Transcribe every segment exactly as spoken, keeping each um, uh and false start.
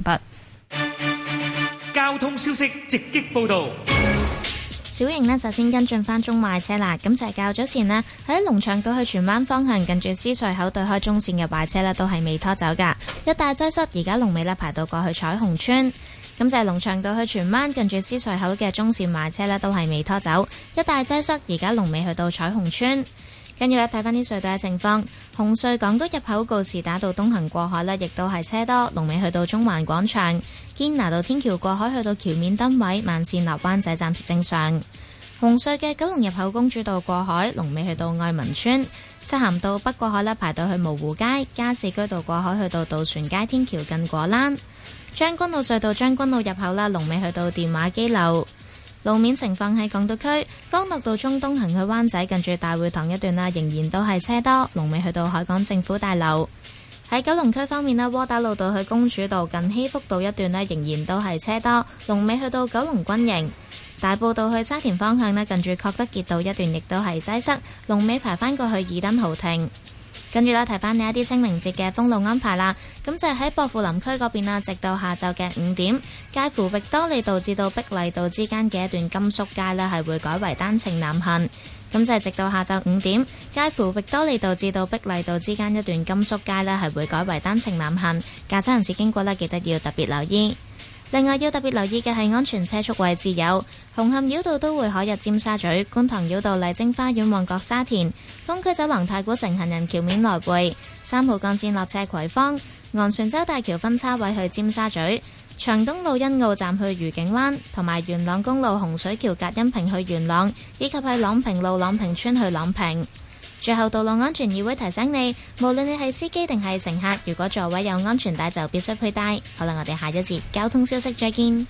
畢。 交通消息直擊報道。 小型呢，首先跟進翻中壞車啦。咁就係較早前呢，喺龍翔道去荃灣方向近住獅隧口對開中線嘅壞車呢，都係未拖走噶，一大擠塞。而家龍尾呢，排到過去彩虹村。咁就係龍翔道去荃灣近住獅隧口嘅中線壞車呢，都係未拖走，一大擠塞。而家龍尾去到彩虹村。跟住咧睇翻啲隧道嘅情況，紅隧港島入口告士打道東行過海呢，亦都係車多，龍尾去到中環廣場。堅拿道天橋過海去到橋面燈位，慢線落灣仔暫時正常。紅隧嘅九龍入口公主道過海，龍尾去到愛民村。漆咸道北過海咧，排到去蕪湖街。加士居道過海去到渡船街天橋近果欄。將軍澳隧道將軍澳入口啦，龍尾去到電話機樓。路面情況喺港島區，干諾道中東行去灣仔近住大會堂一段啦，仍然都係車多，龍尾去到海港政府大樓。喺九龍區方面咧，窩打老道去公主道近禧福道一段咧，仍然都係車多，龍尾去到九龍軍營。大埔道去沙田方向咧，近住確德傑道一段亦都係擠塞，龍尾排返過去爾登豪庭。跟住咧，提翻你一啲清明節嘅封路安排啦。咁就係喺薄扶林區嗰邊啦，直到下晝嘅五點，介乎域多利道至到碧麗道之間嘅一段甘肅街呢，係會改為單程南行。咁就係直到下晝五點，介乎域多利道至到碧麗道之間一段甘肅街呢，係會改為單程南行。駕車人士經過呢，記得要特別留意。另外要特別留意嘅係安全車速位置有紅磡繞道都會海入尖沙咀、觀塘繞道麗晶花園、旺角沙田、東區走廊太古城行人橋面來回、三號幹線落斜葵芳、昂船洲大橋分叉位去尖沙咀、長東路欣澳站去愉景灣，同埋元朗公路洪水橋隔音屏去元朗，以及係朗屏路朗屏村去朗屏。最後，道路安全議會提醒你，無論你係司機定係乘客，如果座位有安全帶就必須佩戴。好啦，我哋下一節交通消息再見。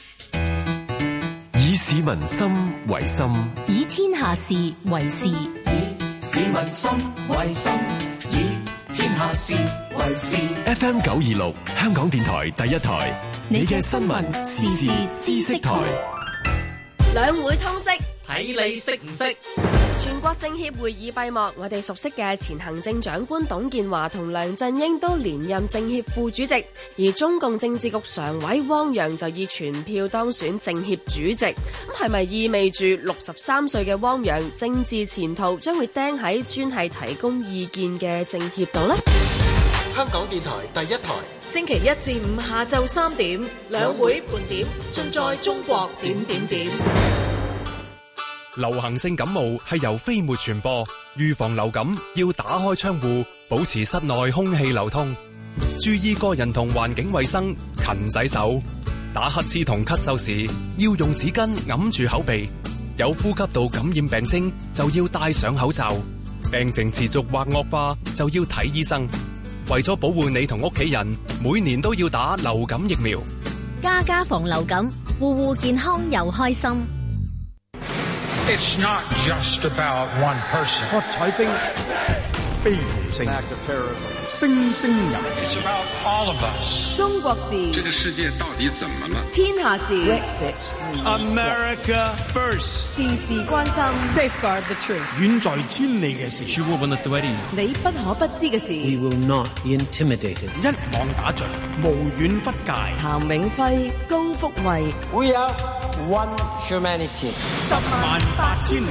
以市民心為心， 以天下事為事，以市民心為心，以天下事為事。 F M 九二六香港電台第一台，你嘅新聞時事知識台。 兩會通識， 睇你識唔識？ 全國政協會議閉幕，我哋熟悉嘅前行政長官董建華同梁振英都連任政協副主席，而中共政治局常委汪洋就以全票當選政協主席。咁係咪意味住六十三歲嘅汪洋政治前途將會釘喺專係提供意見嘅政協度呢？ 香港電台第一台， 星期一至五下晝三點，兩會盤點，盡在中國點點點。 流行性感冒係由飛沫傳播，預防流感要打開窗戶，保持室內空氣流通，注意個人同環境衛生，勤洗手。打乞嗤同咳嗽時要用紙巾揞住口鼻，有呼吸道感染病徵就要戴上口罩，病情持續或惡化就要睇醫生。為咗保護你同屋企人，每年都要打流感疫苗。 家家防流感，戶戶健康又開心。 It's not just about one person. 喝彩聲、悲啼聲、聲聲入。 It's about all of us. 中國事。 這個世界到底怎麼了？ 天下事。 Brexit. America first. 事事關心。Safeguard the truth. 遠在千里嘅事。 你不可不知嘅事。 We will not be intimidated. 一網打盡，無遠弗屆。 譚永輝、高福慧。 We are one humanity. 十萬八千里。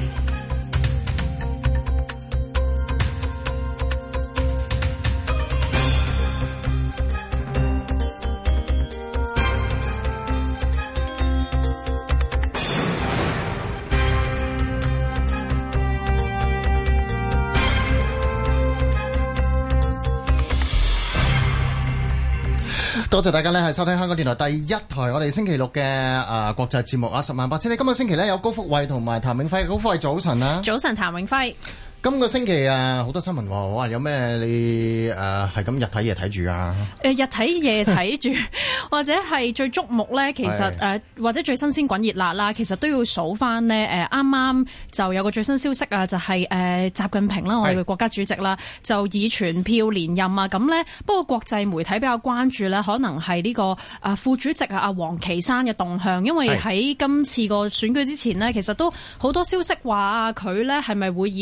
多謝大家咧，係收聽香港電台第一台，我哋星期六嘅誒、呃、國際節目啊，十萬八千里。今個星期咧有高福慧同埋譚永輝，高福慧早晨啊！ 早晨，譚永輝。 今個星期啊，好多新聞喎，哇！有咩你誒係咁日睇夜睇住啊？ 誒、呃、日睇夜睇住，或者係最矚目咧，其實誒、呃、或者最新鮮滾熱辣啦，其實都要數翻呢。誒啱啱就有個最新消息啊，就係、是、誒、呃、習近平啦，我哋嘅國家主席啦，就以全票連任啊。咁呢，不過國際媒體比較關注呢，可能係呢、這個啊副主席啊阿王岐山嘅動向，因為喺今次個選舉之前呢，其實都好多消息話啊佢呢係咪會以即係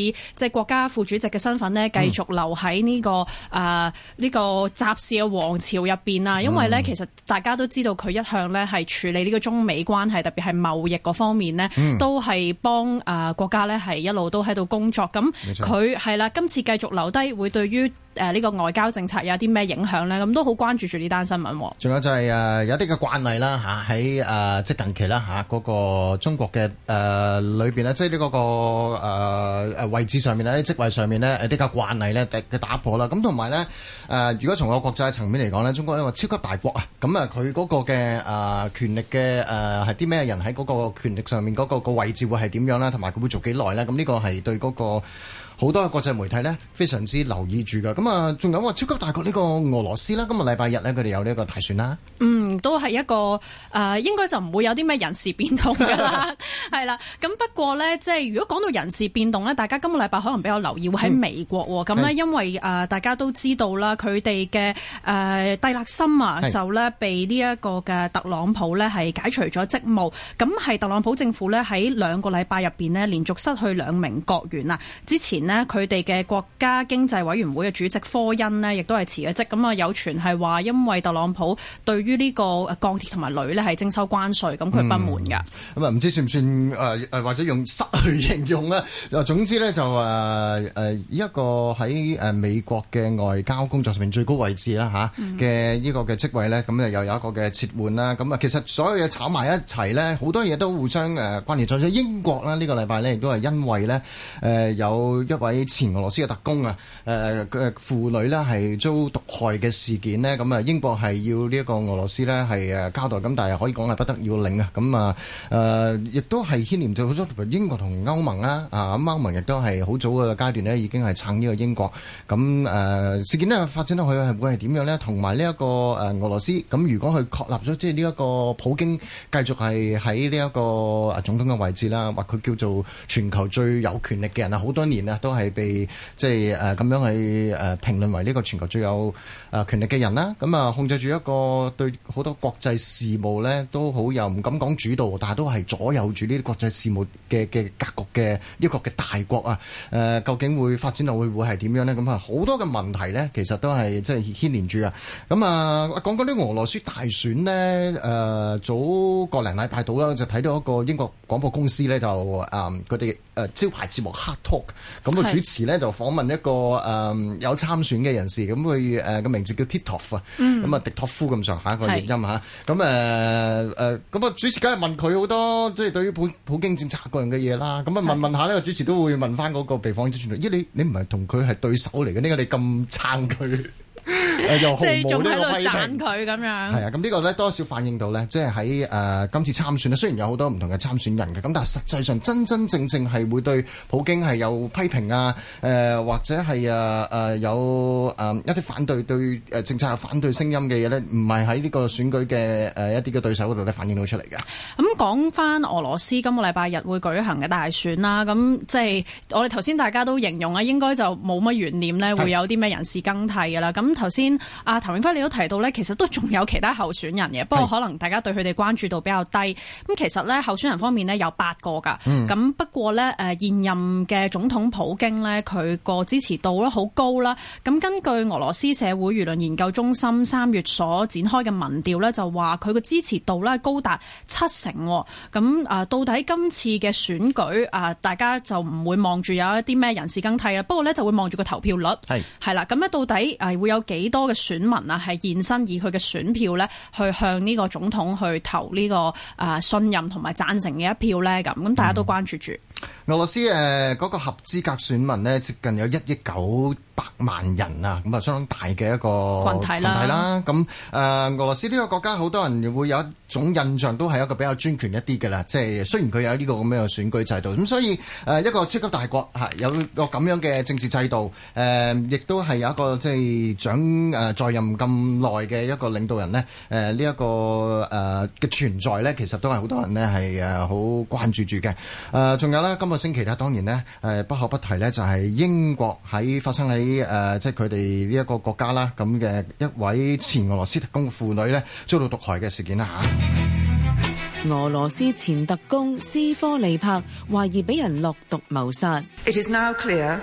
國家副主席嘅身份呢，繼續留喺呢、這個誒呢、嗯呃這個習氏嘅王朝入邊啊。因為呢，嗯、其實大家都知道佢一向呢係處理呢個中美關係，特別係貿易嗰方面呢，嗯、都係幫誒國家呢係一路都喺度工作。咁佢係啦，今次繼續留低，會對於誒呢個外交政策有啲咩影響呢？咁都好關注住呢單新聞。仲有就係誒有啲嘅慣例啦嚇，喺誒即係近期啦嚇嗰個中國嘅誒裏邊咧，即係呢嗰個誒誒位置上面咧，喺職位上面咧誒啲嘅慣例咧嘅打破啦。咁同埋咧誒，如果從個國際層面嚟講咧，中國係一個超級大國啊，咁啊佢嗰個嘅誒權力嘅誒係啲咩人喺嗰個權力上面嗰個個位置會係點樣啦，同埋佢會做幾耐咧？咁呢個係對嗰個好多嘅國際媒體咧非常之留意住㗎。咁啊，仲有話超級大國呢個俄羅斯啦，今日禮拜日咧佢哋有呢個大選啦。 嗯，都係一個誒、呃，應該就唔會有啲咩人事變動㗎啦，係啦。咁不過咧，即係如果講到人事變動咧，大家今個禮拜可能比較留意會喺美國喎。咁、嗯、咧，因為誒、呃、大家都知道啦，佢哋嘅誒蒂勒森啊，就咧被呢一個嘅特朗普咧係解除咗職務。咁係特朗普政府咧喺兩個禮拜入邊呢，連續失去兩名國員啊。之前呢，佢哋嘅國家經濟委員會嘅主席科恩呢，亦都係辭咗職。咁啊，有傳係話因為特朗普對於呢個鋼鐵同埋鋁呢係徵收關稅，咁佢不滿㗎。咁、 嗯、啊，唔知算唔算誒誒、呃，或者用失去形容咧？總之咧就誒誒一個喺誒美國嘅外交工作上面最高位置啦嚇嘅呢個嘅職位咧，咁啊又有一個嘅撤換啦。咁啊，其實所有嘢炒埋一齊咧，好多嘢都互相誒關聯在。英國啦，呢個禮拜咧亦都係因為咧誒、呃、有一位前俄羅斯嘅特工啊誒嘅婦女咧係遭毒害嘅事件呢。咁啊英國係要呢一個俄羅斯咧係誒交代，咁但係可以講係不得要領啊。咁啊誒亦都係牽連到好多英國同歐盟啦啊，咁歐盟亦都係好早嘅階段呢已經係撐呢個英國。咁誒、呃、事件呢發展落去係會係點樣呢？同埋呢一個誒俄羅斯咁，如果佢確立咗即係呢一個普京繼續係喺呢一個總統嘅位置啦，或佢叫做全球最有權力嘅人啊，好多年啊都係被即係誒咁樣去誒評論為呢個全球最有誒權力嘅人啦。咁啊控制住一個對好多國際事務呢都好有唔敢講主導，但係都係左右住呢啲國際事務嘅嘅格局嘅一個嘅大國啊。誒、呃、究竟會發展落會會係點樣呢？咁啊好多嘅問題呢，其實都係即係牽連住啊。咁啊講講啲俄羅斯大選呢，誒、呃、早個零禮拜到啦，就睇到一個英國廣播公司呢，就誒佢哋誒招牌節目 Hard Talk， 咁個主持呢，就訪問一個誒、呃、有參選嘅人士，咁佢誒個名字叫 Titov 啊、嗯，咁啊迪托夫咁上下一個譯音嚇，咁誒誒咁啊主持梗係問佢好多即係對於普普京政策個樣嘅嘢啦，咁啊問問下呢個主持都會問翻嗰個被訪者傳咦你你唔係同佢係對手嚟嘅，點解你咁撐佢？誒又毫無呢個批評佢咁樣， 係啊，咁呢個咧多少反映到咧，即係喺誒今次參選咧，雖然有好多唔同嘅參選人嘅，咁但係實際上真真正正係會對普京係有批評啊，誒、呃、或者係誒誒有誒、呃、一啲反對對誒政策有反對聲音嘅嘢咧，唔係喺呢個選舉嘅誒、呃、一啲嘅對手嗰度咧反映到出嚟嘅。 咁講翻俄羅斯今個禮拜日會舉行嘅大選啦，咁即係我哋頭先大家都形容啊，應該就冇乜懸念咧，會有啲咩人事更替㗎啦。咁頭先阿譚永輝你都提到咧，其實都仲有其他候選人嘅，不過可能大家對佢哋關注度比較低。咁其實咧候選人方面呢，有八個㗎，咁、嗯、不過咧誒現任嘅總統普京呢，佢個支持度咧好高啦。咁根據俄羅斯社會輿論研究中心三月所展開嘅民調咧，就話佢個支持度咧高達七成。咁啊到底今次嘅選舉啊，大家就唔會望住有一啲咩人事更替啦，不過咧就會望住個投票率係係啦。咁咧到底誒會有幾多嘅選民啊係現身以佢嘅選票咧去向呢個總統去投呢個誒信任同埋贊成嘅一票咧？咁咁大家都關注住、嗯、 俄羅斯誒嗰個合資格選民呢，接近有一億九百萬人啊，咁啊相當大嘅一個群體啦。咁誒、呃、俄羅斯呢個國家好多人會有一種印象都係一個比較專權一啲嘅啦，即係雖然佢有呢個咁樣嘅選舉制度，咁所以誒、呃、一個超級大國嚇有個咁樣嘅政治制度，誒、呃、亦都係有一個即係掌誒在任咁耐嘅一個領導人呢。誒呢一個誒嘅、呃、存在呢，其實都係好多人呢係誒好關注住嘅。誒、呃、仲有呢，今個星期呢，當然呢，誒、呃、不可不提呢，就係英國喺發生喺誒、呃、即係佢哋呢一個國家啦咁嘅一位前俄羅斯特工婦女呢，遭到毒害嘅事件啦嚇。 俄羅斯前特工斯科利帕懷疑俾人落毒謀殺。 It is now clear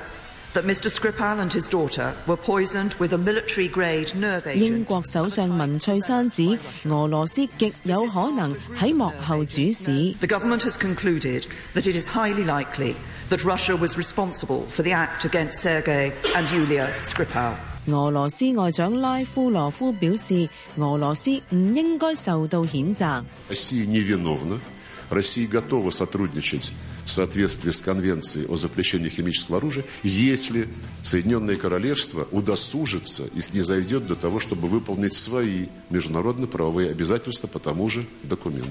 that Mr Skripal and his daughter were poisoned with a military-grade nerve agent。 英國首相文翠珊指俄羅斯極有可能喺幕後主使。 The government has concluded that it is highly likely that Russia was responsible for the act against Sergei and Yulia Skripal。 俄羅斯外長拉夫羅夫表示，俄羅斯唔應該受到譴責。 Россия невиновна. Россия готова сотрудничать в соответствии с Конвенцией о запрещении химического оружия, если Соединенное Королевство удосужится и снизойдет до того, чтобы выполнить свои международно-правовые обязательства по тому же документу。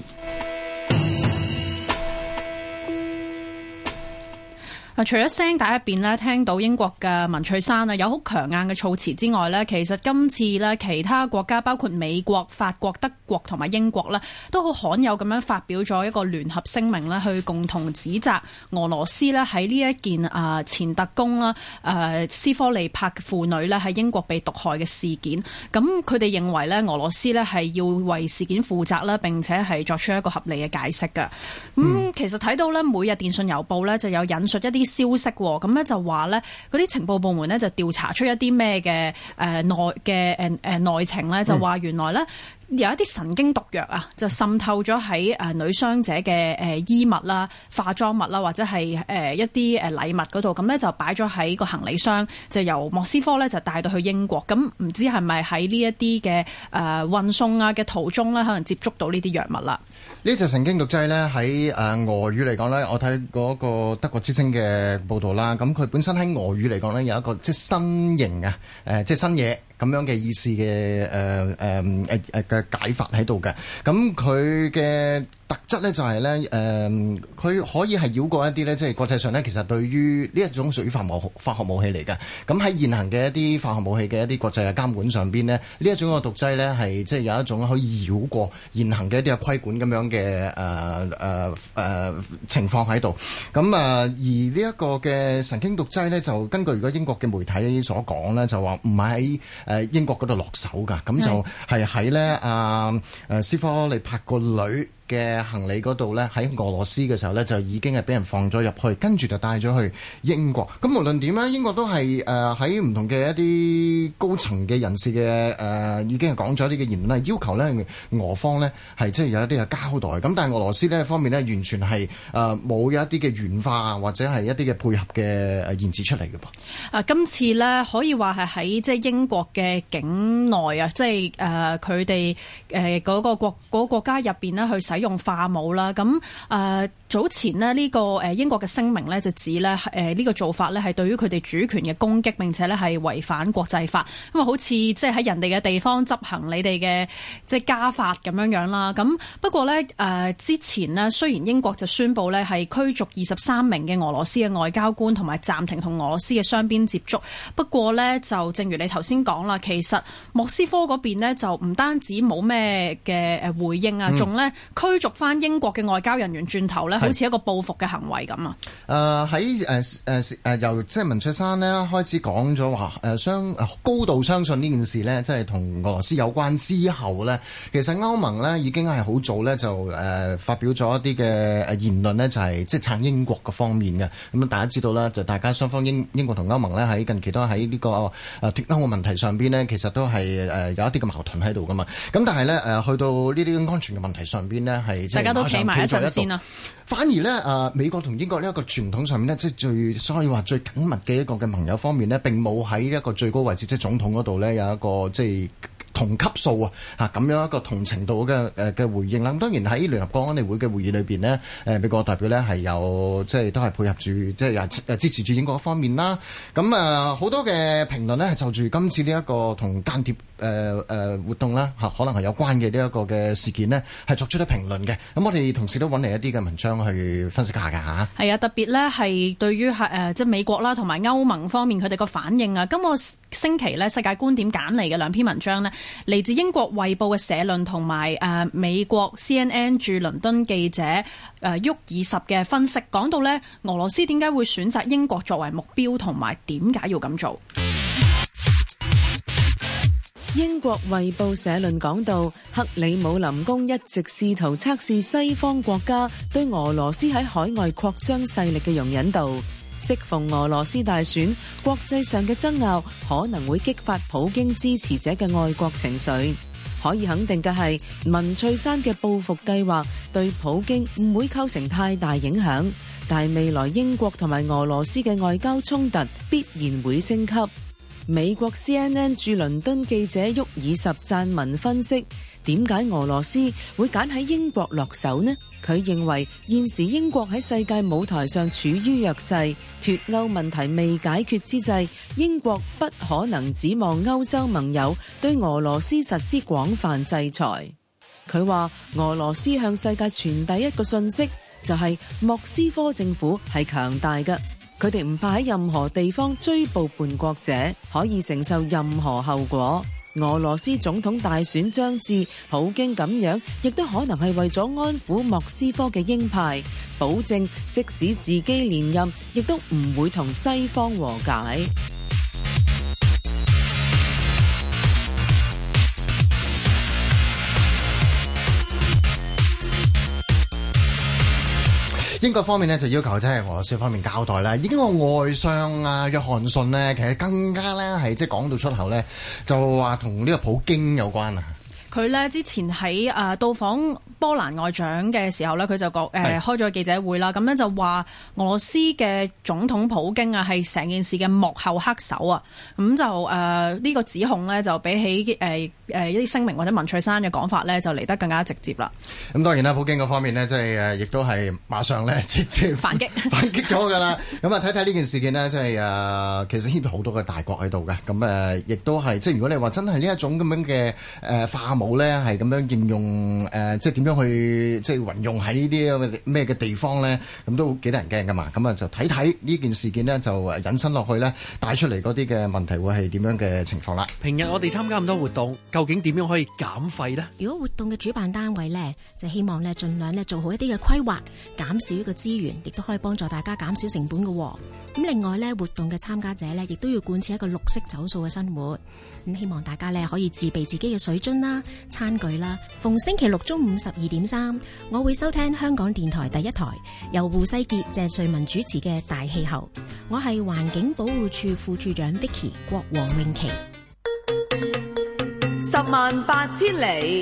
除咗聲帶入邊咧聽到英國嘅文翠珊啊有好強硬嘅措辭之外咧，其實今次咧其他國家包括美國、法國、德國同埋英國咧，都好罕有咁樣發表咗一個聯合聲明咧，去共同指責俄羅斯咧喺呢一件啊前特工啦誒斯科利帕嘅婦女咧喺英國被毒害嘅事件。咁佢哋認為咧俄羅斯咧係要為事件負責啦，並且係作出一個合理嘅解釋嘅。咁、嗯、其實睇到咧每日電訊郵報咧就有引述一啲消息喎，咁咧就話咧嗰啲情報部門咧就調查出一啲咩嘅誒內嘅誒誒內情咧，就話原來咧有一啲神經毒藥啊，就滲透咗喺誒女傷者嘅誒衣物啦、化妝物啦，或者係誒一啲誒禮物嗰度，咁咧就擺咗喺個行李箱，就由莫斯科咧就帶到去英國。咁唔知係咪喺呢一啲嘅誒運送啊嘅途中咧，可能接觸到呢啲藥物啦？ 呢隻神經毒劑咧喺誒俄語嚟講咧，我睇嗰個德國之聲嘅報導啦，咁佢本身喺俄語嚟講咧有一個即係新型啊，誒即係新嘢咁樣嘅意思嘅誒誒誒誒嘅解法喺度嘅。咁佢嘅特質咧就係咧誒，佢可以係繞過一啲咧，即係國際上咧其實對於呢一種屬於化武化學武器嚟嘅。咁喺現行嘅一啲化學武器嘅一啲國際嘅監管上邊呢，呢一種嘅毒劑咧係即係有一種可以繞過現行嘅一啲嘅規管咁樣嘅誒誒誒情況喺度。咁啊而呢一個嘅神經毒劑咧，就根據如果英國嘅媒體所講咧，就話唔係喺誒英國嗰度落手㗎，咁就係喺咧啊誒斯科利帕個女嘅行李嗰度咧，喺俄羅斯嘅時候咧，就已經係俾人放咗入去，跟住就帶咗去英國。咁無論點咧，英國都係誒喺唔同嘅一啲高層嘅人士嘅誒、呃，已經係講咗一啲嘅言論，係要求咧俄方咧係即係有一啲嘅交代。咁但係俄羅斯呢方面咧，完全係誒冇有一啲嘅軟化或者係一啲嘅配合嘅誒言辭出嚟嘅噃。 啊，今次咧可以話係喺即係英國嘅境內啊，即係誒佢哋誒嗰個國嗰個國家入邊咧去使用化武啦，咁誒、呃、早前呢，呢、這個誒英國嘅聲明呢，就指咧誒呢個做法呢係對於佢哋主權嘅攻擊，並且呢係違反國際法，因為好似即係喺人哋嘅地方執行你哋嘅即係家法咁樣樣啦。咁不過呢，誒、呃、之前呢，雖然英國就宣布呢係驅逐二十三名嘅俄羅斯嘅外交官，同埋暫停同俄羅斯嘅雙邊接觸。不過呢，就正如你頭先講啦，其實莫斯科嗰邊呢，就唔單止冇咩嘅誒回應啊，仲、嗯、呢。驅逐翻英國嘅外交人員轉頭咧，好似一個報復嘅行為咁啊！ 誒喺誒誒誒由即係文翠珊咧開始講咗話誒相高度相信呢件事咧，即係同俄羅斯有關之後咧，其實歐盟咧已經係好早咧就誒、呃、發表咗一啲嘅誒言論咧，就係即係撐英國嘅方面嘅。咁啊，大家知道啦，就大家雙方英英國同歐盟咧喺近期都喺呢個誒脫歐嘅問題上邊咧，其實都係誒有一啲嘅矛盾喺度噶嘛。咁但係咧誒去到呢啲安全嘅問題上邊咧。係大家都企埋一陣先啦。 反而咧，誒、呃、美國同英國呢一個傳統上面咧，即係最所以話最緊密嘅一個嘅盟友方面咧，並冇喺一個最高位置，即係總統嗰度咧有一個即係同級數啊嚇咁樣一個同程度嘅誒嘅回應啦。咁當然喺聯合國安理會嘅會議裏邊呢，誒美國代表咧係有即係都係配合住即係誒支持住英國一方面啦。咁啊好多嘅評論呢係就住今次呢一個同間諜誒誒活動啦嚇，可能係有關嘅呢一個嘅事件呢，係作出咗評論嘅。咁我哋同時都揾嚟一啲嘅文章去分析下㗎嚇。係啊，特別呢係對於係誒即係美國啦同埋歐盟方面佢哋個反應啊。今個星期呢，世界觀點揀嚟嘅兩篇文章呢，嚟自英國衛報嘅社論同埋誒美國 C N N 駐倫敦記者誒沃爾什嘅分析，講到呢俄羅斯點解會選擇英國作為目標，同埋點解要咁做。 英國衛報社論講到，克里姆林宮一直試圖測試西方國家對俄羅斯喺海外擴張勢力嘅容忍度。 適逢俄羅斯大選，國際上嘅爭拗可能會激發普京支持者嘅愛國情緒。可以肯定嘅係，文翠珊嘅報復計劃對普京唔會構成太大影響，但係未來英國同埋俄羅斯嘅外交衝突必然會升級。美國 C N N 駐倫敦記者沃爾什撰文分析，點解俄羅斯會揀喺英國落手呢？佢認為現時英國喺世界舞台上處於弱勢，脫歐問題未解決之際，英國不可能指望歐洲盟友對俄羅斯實施廣泛制裁。佢話俄羅斯向世界傳遞一個訊息，就係莫斯科政府係強大嘅，佢哋唔怕喺任何地方追捕叛國者，可以承受任何後果。俄羅斯總統大選將至，普京咁樣亦都可能係為咗安撫莫斯科嘅鷹派，保證即使自己連任，亦都唔會同西方和解。 英國方面呢就要求即係俄羅斯方面交代啦。英國外相啊約翰遜呢，其實更加咧係即係講到出口咧，就話同呢個普京有關啊。 佢咧之前喺誒到訪波蘭外長嘅時候咧，佢就講誒開咗記者會啦，咁咧就話俄羅斯嘅總統普京啊係成件事嘅幕後黑手啊，咁就誒呢、呃這個指控咧就比起誒誒、呃、一啲聲明或者文翠珊嘅講法咧就嚟得更加直接啦。 咁當然啦，普京嗰方面呢，即係誒亦都係馬上咧直接反擊反擊咗㗎啦。咁啊睇睇呢件事件呢，即係誒其實牽咗好多嘅大國喺度嘅，咁誒亦都係即係如果你話真係呢一種咁樣嘅誒化武咧係咁樣應用誒、呃，即係點樣去即係運用喺呢啲咩嘅地方咧？咁都幾得人驚噶嘛！咁啊就睇睇呢件事件呢，就引申落去咧，帶出嚟嗰啲嘅問題會係點樣嘅情況啦。 平日我哋參加咁多活動，究竟點樣可以減廢呢？ 如果活動嘅主辦單位咧，就希望咧盡量咧做好一啲嘅規劃，減少呢個資源，亦都可以幫助大家減少成本嘅。咁另外咧，活動嘅參加者咧，亦都要貫徹一個綠色走數嘅生活。咁希望大家咧可以自備自己嘅水樽啦、餐具啦。逢星期六中午十二點三，我會收聽香港電台第一台由胡世傑、謝瑞文主持嘅《大氣候》。我係環境保護署副署長 Vicky 郭黃詠琪。 十萬八千里。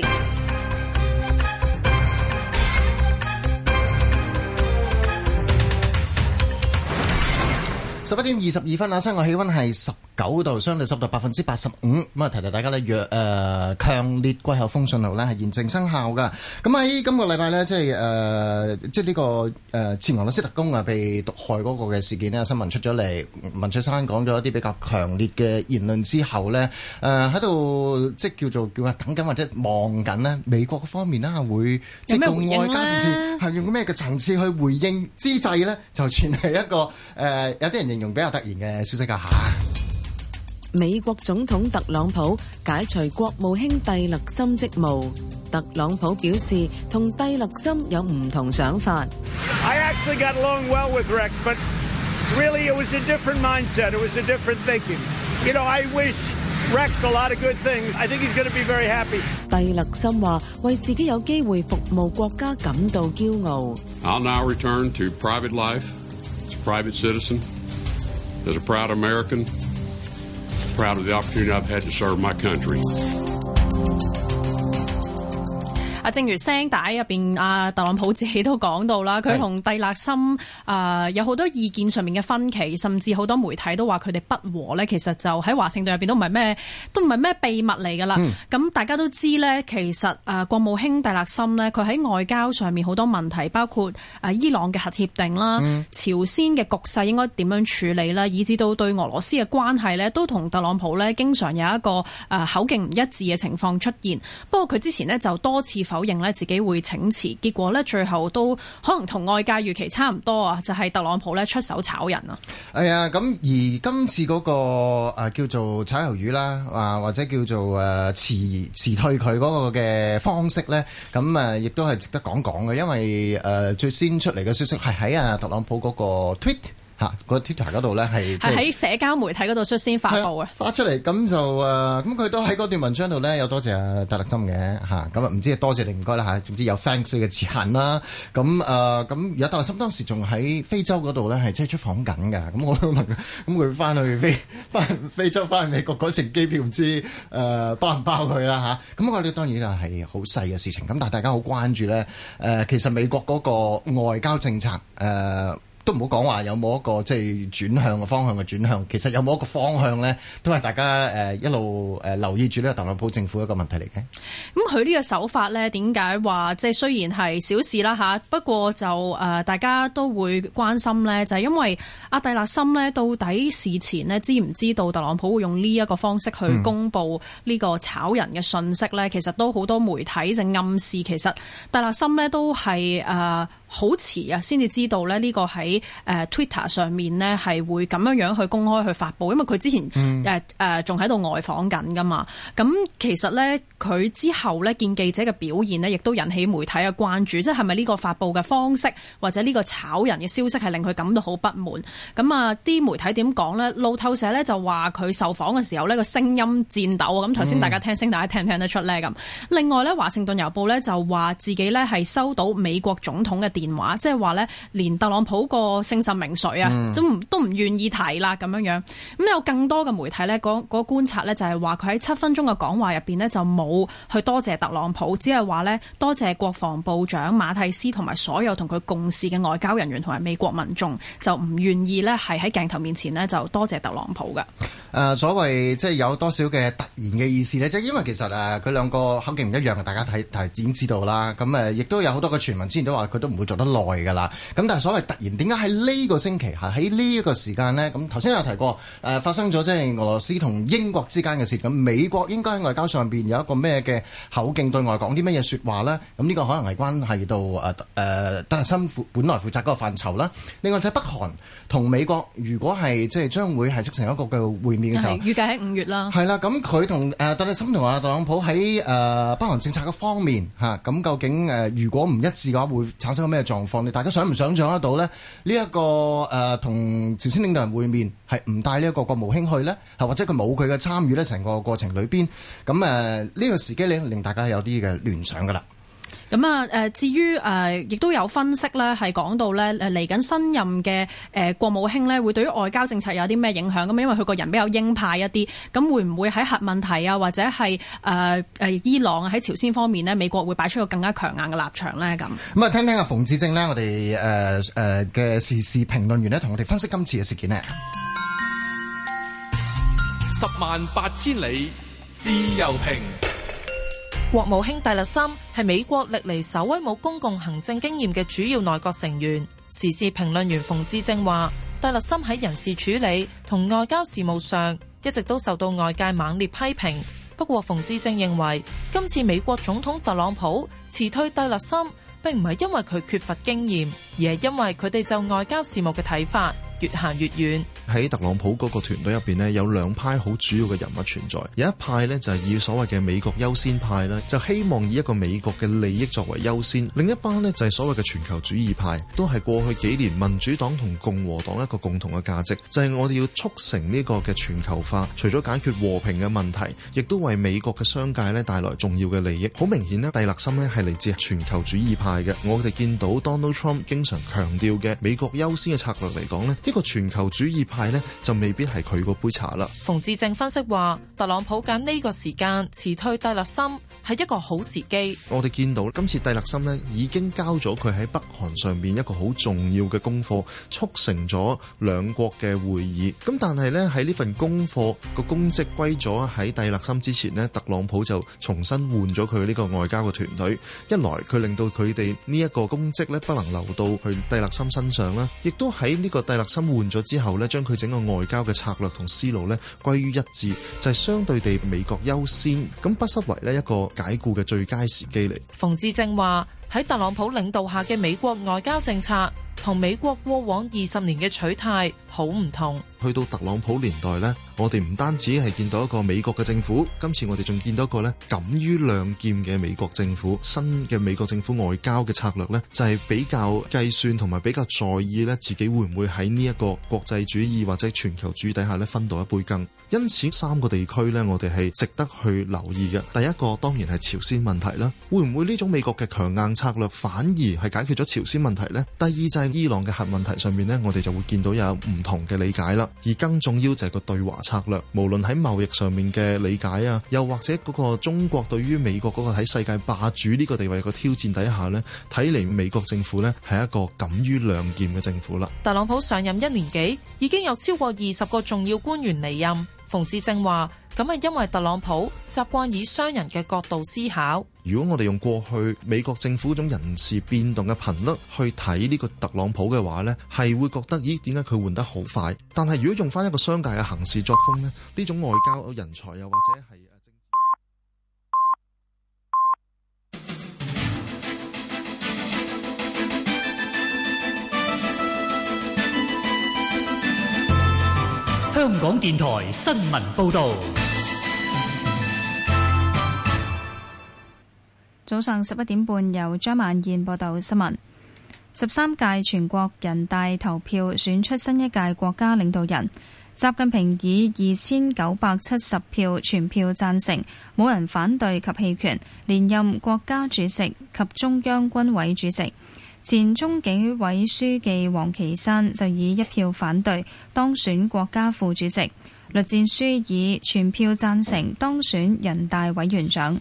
十一點二十二分啊，室外氣溫係十九度，相對濕度百分之八十五。咁啊，提提大家咧，弱誒強烈季候風信號咧係現正生效噶。咁喺今個禮拜咧，即係誒、呃，即係、這、呢個誒、呃、前俄羅斯特工啊被毒害嗰個嘅事件咧，新聞出咗嚟，文翠珊講咗一啲比較強烈嘅言論之後咧，誒喺度即係叫做叫啊等緊或者望緊呢美國方面啦會即係用外交層次係用咩嘅層次去回應之際咧，就傳係一個誒、呃、有啲人形容比較突然嘅消息㗎吓。 美國總統特朗普解除國務卿蒂勒森職務。特朗普表示同蒂勒森有唔同想法。 I actually got along well with Rex, but really it was a different mindset. It was a different thinking. You know, I wish Rex a lot of good things. I think he's going to be very happy. 蒂勒森話為自己有機會服務國家感到驕傲。 I'll now return to private life as a private citizen, as a proud American, proud of the opportunity I've had to serve my country. 啊，正如聲帶入邊，阿特朗普自己都講到啦，佢同蒂勒森啊有好多意見上面嘅分歧，甚至好多媒體都話佢哋不和咧。其實就喺華盛頓入邊都唔係咩，都唔係咩秘密嚟㗎啦。咁、嗯、大家都知咧，其實啊國務卿蒂勒森咧，佢喺外交上面好多問題，包括啊伊朗嘅核協定啦、嗯、朝鮮嘅局勢應該點樣處理啦，以至到對俄羅斯嘅關係咧，都同特朗普咧經常有一個啊口徑唔一致嘅情況出現。不過佢之前呢就多次否認咧自己會請辭，結果咧最後都可能同外界預期差唔多啊，就係、是、特朗普咧出手炒人啊。 係啊，咁而今次嗰、那個誒、呃、叫做炒魷魚啦，啊或者叫做誒、呃、辭辭退佢嗰個嘅方式咧，咁誒亦都係值得講講嘅，因為誒、呃、最先出嚟嘅消息係喺啊特朗普嗰個 tweet。 嚇個 Twitter 嗰度咧係係喺社交媒體嗰度率先發布啊， 發出嚟咁就誒咁佢都喺嗰段文章度咧有多謝阿戴立森嘅嚇，咁啊唔知係多謝定唔該啦嚇，總之有 thanks 嘅字眼啦。咁誒咁而家戴立森當時仲喺非洲嗰度咧係即係出訪緊㗎，咁我都問佢，咁佢翻去非翻非洲翻去美國嗰程機票唔知誒、呃、包唔包佢啦嚇，咁我哋當然啊係好細嘅事情，咁但係大家好關注咧誒、呃，其實美國嗰個外交政策誒。呃都唔好講話有冇一個即係轉向嘅方向嘅轉向，其實有冇一個方向咧，都係大家誒一路誒留意住呢個特朗普政府一個問題嚟嘅。 咁佢呢個手法咧，點解話即係雖然係小事啦嚇，不過就誒、呃、大家都會關心咧，就係、是、因為阿蒂勒森咧，到底事前呢知唔知道特朗普會用呢一個方式去公佈呢個炒人嘅訊息咧？嗯、其實都好多媒體就暗示其實蒂勒森咧都係誒。呃好遲啊，先至知道咧呢個喺誒 Twitter 上面呢係會咁樣樣去公開去發布，因為佢之前誒誒仲喺度外訪緊噶嘛。咁其實呢，佢之後呢見記者嘅表現呢，亦都引起媒體嘅關注，即係係咪呢個發布嘅方式或者呢個炒人嘅消息係令佢感到好不滿？咁啊，啲媒體點講呢？路透社呢就話佢受訪嘅時候呢個聲音顫抖啊。咁頭先大家聽聲，大家聽唔聽得出呢？咁另外呢，華盛頓郵報呢就話自己呢係收到美國總統嘅電話，即係話咧，連特朗普個姓甚名誰啊，嗯、都唔都唔願意提啦咁樣樣。咁有更多嘅媒體咧，嗰、嗰個觀察咧就係話佢喺七分鐘嘅講話入邊呢，就冇去多謝特朗普，只係話咧多謝國防部長馬蒂斯同埋所有同佢共事嘅外交人員同埋美國民眾，就唔願意咧係喺鏡頭面前呢，就多謝特朗普嘅。誒、 呃，所謂即係有多少嘅突然嘅意思呢？即係因為其實誒佢兩個口徑唔一樣，大家睇睇已經知道啦。咁誒亦都有好多嘅傳聞，之前都話佢都唔會做得耐㗎啦，咁但係所謂突然點解喺呢個星期嚇喺呢一個時間呢？咁頭先有提過誒、呃、發生咗即係俄羅斯同英國之間嘅事，咁美國應該喺外交上邊有一個咩嘅口徑對外講啲乜嘢説話呢？咁呢個可能係關係到誒誒戴立森本來負責嗰個範疇啦。另外就係北韓同美國，如果係即係將會係促成一個嘅會面嘅時候， 預計喺五月啦。 係啦，咁佢同誒戴立森同阿特朗普喺誒、呃、北韓政策嘅方面嚇，咁、啊、究竟誒、呃、如果唔一致嘅話，會產生咩狀況？你大家想唔想像得到呢？呢、這、一個誒同、呃、朝鮮領導人會面係唔帶呢一個國務卿去呢？係或者佢冇佢嘅參與呢？成個過程裏邊，咁誒呢個時機令令大家有啲嘅聯想㗎啦。 咁啊，誒至於誒，亦都有分析咧，係講到咧，誒嚟緊新任嘅誒國務卿咧，會對於外交政策有啲咩影響？咁因為佢個人比較鷹派一啲，咁會唔會喺核問題啊，或者係誒誒伊朗啊，喺朝鮮方面呢，美國會擺出個更加強硬嘅立場咧？咁咁啊，聽聽阿馮智政呢，我哋誒誒嘅時事評論員呢，同我哋分析今次嘅事件呢。 十萬八千里自由評。 國務卿蒂勒森係美國歷嚟首位冇公共行政經驗嘅主要內閣成員。時事評論員馮智政話，蒂勒森喺人事處理同外交事務上一直都受到外界猛烈批評。不過馮智政認為，今次美國總統特朗普辭退蒂勒森，並唔係因為佢缺乏經驗，而係因為佢哋就外交事務嘅睇法越行越遠。 喺特朗普嗰個團隊入邊呢，有兩派好主要嘅人物存在。有一派呢，就係以所謂嘅美國優先派啦，就希望以一個美國嘅利益作為優先；另一班呢，就係所謂嘅全球主義派，都係過去幾年民主黨同共和黨一個共同嘅價值，就係我哋要促成呢個嘅全球化。除咗解決和平嘅問題，亦都為美國嘅商界呢帶來重要嘅利益。好明顯呢，蒂勒森呢係嚟自全球主義派嘅。我哋見到 Donald Trump 經常強調嘅美國優先嘅策略嚟講呢，呢個全球主義派呢就未必係佢嗰杯茶啦。 馮智政分析話，特朗普揀呢個時間辭退蒂勒森係一個好時機。 我哋見到今次蒂勒森呢已經交咗佢喺北韓上邊一個好重要嘅功課，促成咗兩國嘅會議。咁但係呢，喺呢份功課個公職歸咗喺蒂勒森之前呢，特朗普就重新換咗佢呢個外交嘅團隊。一來佢令到佢哋呢一個公職呢不能留到去蒂勒森身上啦，亦都喺呢個蒂勒森換咗之後呢，將佢整個外交嘅策略同思路呢歸於一致，就係、是、相對地美國優先，咁不失為呢一個解僱嘅最佳時機嚟。 馮智政話， 喺特朗普領導下嘅美國外交政策同美國過往二十年嘅取態好唔同。 去到特朗普年代呢，我哋唔單止係見到一個美國嘅政府，今次我哋仲見到一個呢敢於亮劍嘅美國政府。新嘅美國政府外交嘅策略呢，就係比較計算同埋比較在意呢自己會唔會喺呢一個國際主義或者全球主義底下呢分到一杯羹。因此三個地區呢，我哋係值得去留意嘅。第一個當然係朝鮮問題啦，會唔會呢種美國嘅強硬策略反而係解決咗朝鮮問題呢？第二就係伊朗嘅核問題上面呢，我哋就會見到有唔同嘅理解啦。而更重要就係個對華策略，無論喺貿易上面嘅理解啊，又或者嗰個中國對於美國嗰個喺世界霸主呢個地位嘅挑戰底下呢，睇嚟美國政府呢係一個敢於亮劍嘅政府啦。 特朗普上任一年幾，已經有超過二十個重要官員離任。馮智政話：咁係因為特朗普習慣以商人嘅角度思考。 如果我哋用過去美國政府嗰種人事變動嘅頻率去睇呢個特朗普嘅話呢，係會覺得咦，點解佢換得好快？但係如果用翻一個商界嘅行事作風呢，呢種外交人才又或者係香港電台新聞報導。 早上十一點半，由張曼燕報道新聞。十三屆全國人大投票選出新一屆國家領導人，習近平以二千九百七十票全票贊成，冇人反對及棄權，連任國家主席及中央軍委主席。前中紀委書記王岐山就以一票反對當選國家副主席，栗戰書以全票贊成當選人大委員長。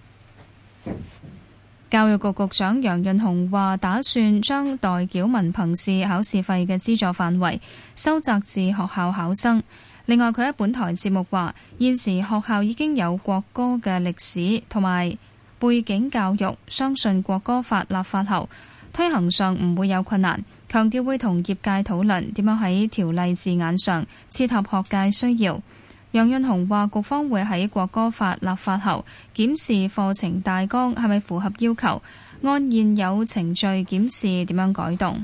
教育局局長楊潤雄話，打算將代繳文憑試考試費嘅資助範圍收窄至學校考生。另外，佢喺本台節目話，現時學校已經有國歌嘅歷史同埋背景教育，相信國歌法立法後推行上唔會有困難，強調會同業界討論點樣喺條例字眼上切合學界需要。楊潤雄話，局方會喺國歌法立法後檢視課程大綱係咪符合要求，按現有程序檢視點樣改動。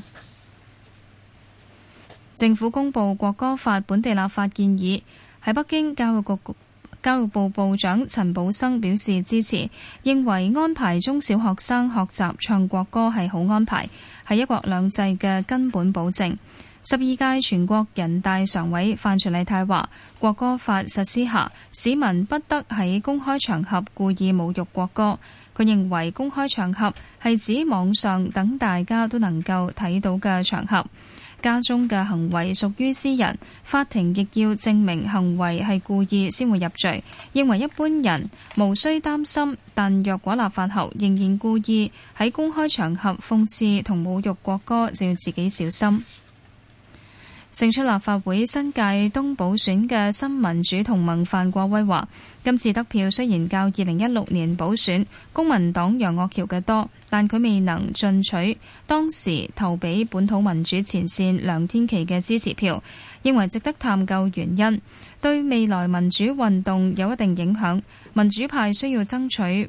政府公布國歌法本地立法建議，喺北京教育局教育部部長陳寶生表示支持，認為安排中小學生學習唱國歌係好安排，係一國兩制嘅根本保證。十二屆全國人大常委范徐麗泰話，國歌法實施下，市民不得喺公開場合故意侮辱國歌。佢認為公開場合係指網上等大家都能夠睇到嘅場合，家中嘅行為屬於私人，法庭亦要證明行為係故意先會入罪。認為一般人無需擔心，但若果立法後仍然故意喺公開場合諷刺同侮辱國歌，就要自己小心。勝出立法會新界東補選嘅新民主同盟范國威話，今次得票雖然較二零一六年補選公民黨楊岳橋嘅多，但佢未能進取當時投俾本土民主前線梁天琦嘅支持票，認為值得探究原因，對未來民主運動有一定影響。民主派需要爭取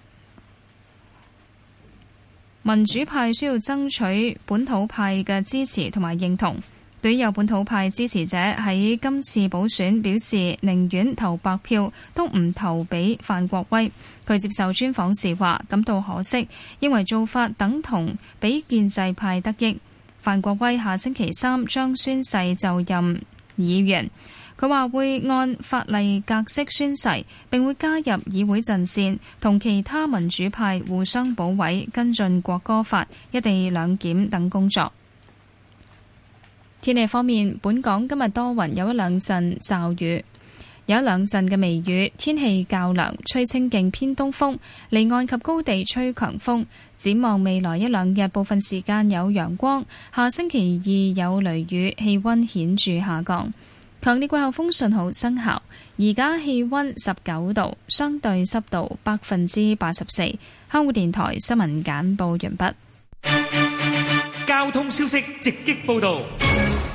民主派需要爭取本土派嘅支持同埋認同。對於有本土派支持者喺今次補選表示寧願投白票都唔投俾范國威，佢接受專訪時話感到可惜，認為做法等同俾建制派得益。范國威下星期三將宣誓就任議員，佢話會按法例格式宣誓，並會加入議會陣線，同其他民主派互相保衛，跟進國歌法、一地兩檢等工作。天氣方面，本港今日多雲，有一兩陣驟雨，有一兩陣嘅微雨，天氣較涼，吹清勁偏東風，離岸及高地吹強風。展望未來一兩日，部分時間有陽光，下星期二有雷雨，氣溫顯著下降。強烈季候風信號生效，而家氣溫十九度，相對濕度百分之八十四。香港電台新聞簡報完畢。 交通消息直擊報道。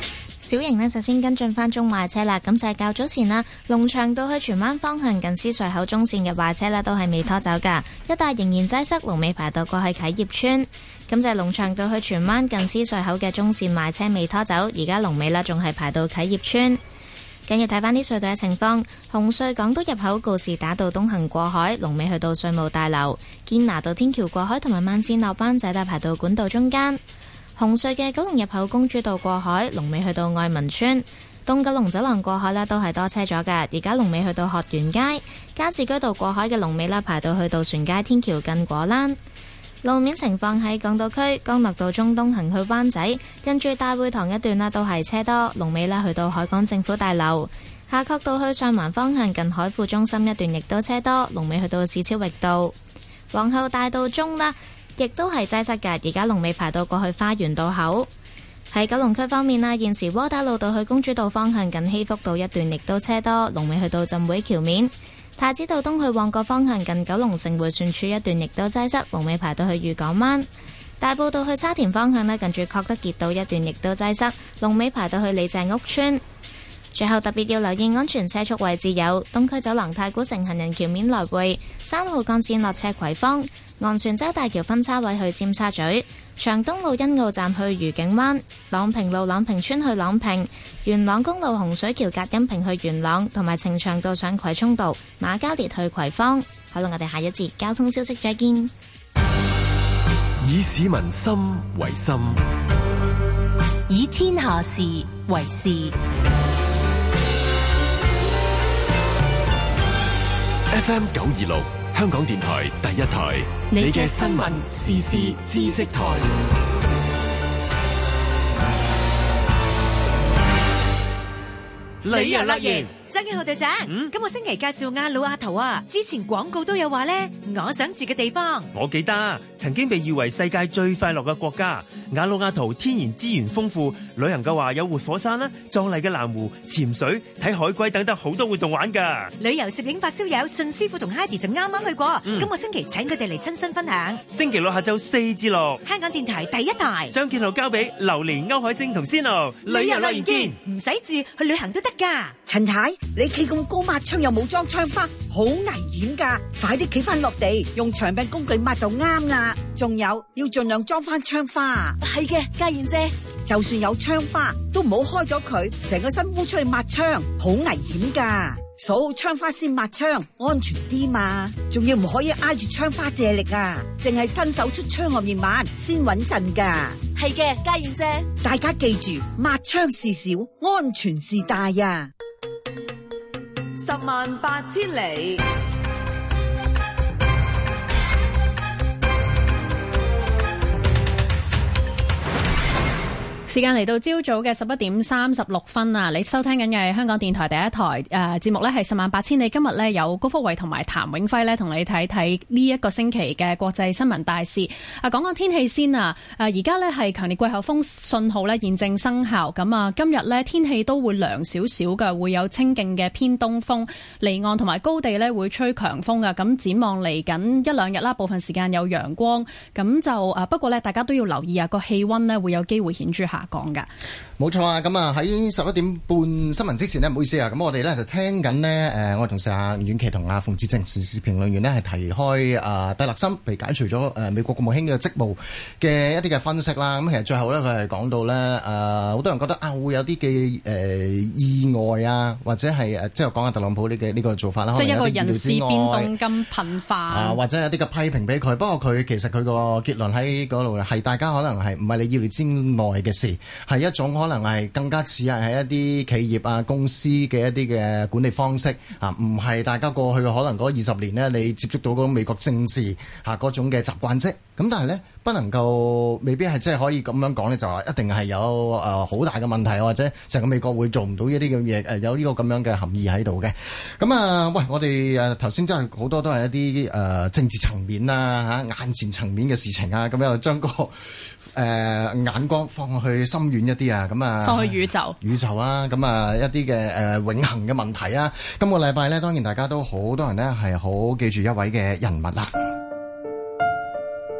小型呢就先跟進翻中壞車啦，咁就係較早前啦，龍翔道去荃灣方向近獅隧口中線嘅壞車呢都係未拖走噶，一帶仍然擠塞，龍尾排到過去啟業邨。咁就係龍翔道去荃灣近獅隧口嘅中線壞車未拖走，而家龍尾啦仲係排到啟業邨。緊要睇翻啲隧道嘅情況，紅隧港島入口告士打道東行過海，龍尾去到稅務大樓；堅拿道天橋過海同埋慢線落灣仔大排到管道中間。紅隧嘅九龍入口公主道過海，龍尾去到愛民邨；東九龍走廊過海啦，都係多車咗㗎。而家龍尾去到學園街，加士居道過海嘅龍尾啦，排到去渡船街天橋近果欄。路面情況喺港島區，干諾道中東行去灣仔，跟住大會堂一段啦，都係車多，龍尾啦去到海港政府大樓。夏慤道去上環方向近海富中心一段亦都車多，龍尾去到紫超域道。皇后大道中啦，亦都係擠塞㗎，而家龍尾排到過去花園道口。喺九龍區方面啦，現時窩打老道去公主道方向近禧福道一段亦都車多，龍尾去到浸會橋面。太子道東去旺角方向近九龍城迴旋處一段亦都擠塞，龍尾排到去御港灣。大埔道去沙田方向呢，近住確德傑道一段亦都擠塞，龍尾排到去李鄭屋村。最後特別要留意安全車速位置有東區走廊太古城行人橋面來回、三號幹線落斜葵芳、昂船洲大橋分叉位去尖沙咀、長東路欣澳站去愉景灣、朗屏路朗屏村去朗屏、元朗公路洪水橋隔音屏去元朗，同埋呈祥道上葵涌道馬嘉烈去葵芳。好啦，我哋下一節交通消息再見。 以市民心為心， 以天下事為事。 F M 九二六香港電台第一台，你嘅新聞時事知識台。 旅遊樂園，張建浩隊長，嗯、今個星期介紹亞魯亞圖啊，之前廣告都有話咧，我想住嘅地方。 我記得曾經被譽為世界最快樂嘅國家。亞魯亞圖天然資源豐富，旅行嘅話有活火山啦、壯麗嘅藍湖、潛水、睇海龜等等好多活動玩㗎。 旅遊攝影發燒友信師傅同 Heidi 就啱啱去過，嗯、今個星期請佢哋嚟親身分享。 星期六下晝四至六， 香港電台第一台。 張建浩交俾榴蓮、歐海星同仙奴。 旅遊樂園見，唔使住去旅行都得㗎。 陳太，你企咁高抹窗又冇裝窗花，好危險㗎！快啲企翻落地，用長柄工具抹就啱啦。仲有要盡量裝翻窗花。 係嘅，家燕姐， 就算有窗花，都唔好開咗佢，成個身烏出去抹窗，好危險㗎。數好窗花先抹窗，安全啲嘛。仲要唔可以挨住窗花借力啊，淨係伸手出窗外面抹先穩陣㗎。 係嘅，家燕姐， 大家記住，抹窗事小，安全事大呀。 十萬八千里。 時間嚟到朝早嘅十一點三十六分啊！你收聽緊嘅係香港電台第一台誒、呃、節目呢係十萬八千里。今日呢，有高福慧同埋譚永輝呢同你睇睇呢一個星期嘅國際新聞大事。啊，講講天氣先啊！誒而家呢係強烈季候風信號呢現正生效。咁啊，今日呢天氣都會涼少少嘅，會有清勁嘅偏東風，離岸同埋高地呢會吹強風㗎。咁展望嚟緊一兩日啦，部分時間有陽光。咁就誒不過呢，大家都要留意啊，個氣溫呢會有機會顯著下講噶， 冇錯啊！咁啊喺十一點半新聞之前呢，唔好意思啊，咁我哋咧就聽緊呢，誒，我同事阿阮琪同阿馮志正時事評論員呢係提開啊戴立森被解除咗誒美國國務卿嘅職務嘅一啲嘅分析啦。咁其實最後咧佢係講到咧誒，好多人覺得啊會有啲嘅誒意外啊，或者係誒即係講下特朗普呢嘅呢個做法啦， 即係一個人事變動咁頻繁啊，或者有啲嘅批評俾佢。不過佢其實佢個結論喺嗰度係大家可能係唔係你意料之內嘅事。係一種可能係更加似係喺一啲企業啊公司嘅一啲嘅管理方式啊，唔係大家過去嘅可能嗰二十年呢，你接觸到嗰種美國政治嚇嗰種嘅習慣啫。咁但係呢，不能夠未必係即係可以咁樣講呢，就話一定係有誒好大嘅問題，或者成個美國會做唔到一啲咁嘢誒，有呢個咁樣嘅含義喺度嘅。咁啊，喂，我哋誒頭先真係好多都係一啲誒、呃、政治層面啊嚇眼前層面嘅事情啊，咁又將個誒、呃、眼光放去深遠一啲啊，咁啊放去宇宙宇宙啊，咁啊一啲嘅誒永恆嘅問題啊。今個禮拜呢，當然大家都好多人呢係好記住一位嘅人物啦。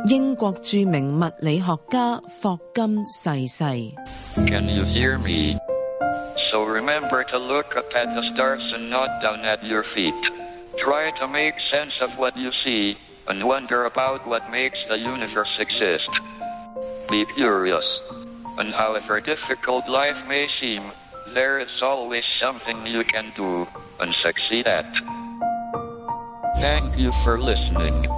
英國著名物理學家霍金逝世。 Can you hear me? So remember to look up at the stars and not down at your feet. Try to make sense of what you see and wonder about what makes the universe exist. Be curious. And however difficult life may seem, there is always something you can do and succeed at. Thank you for listening.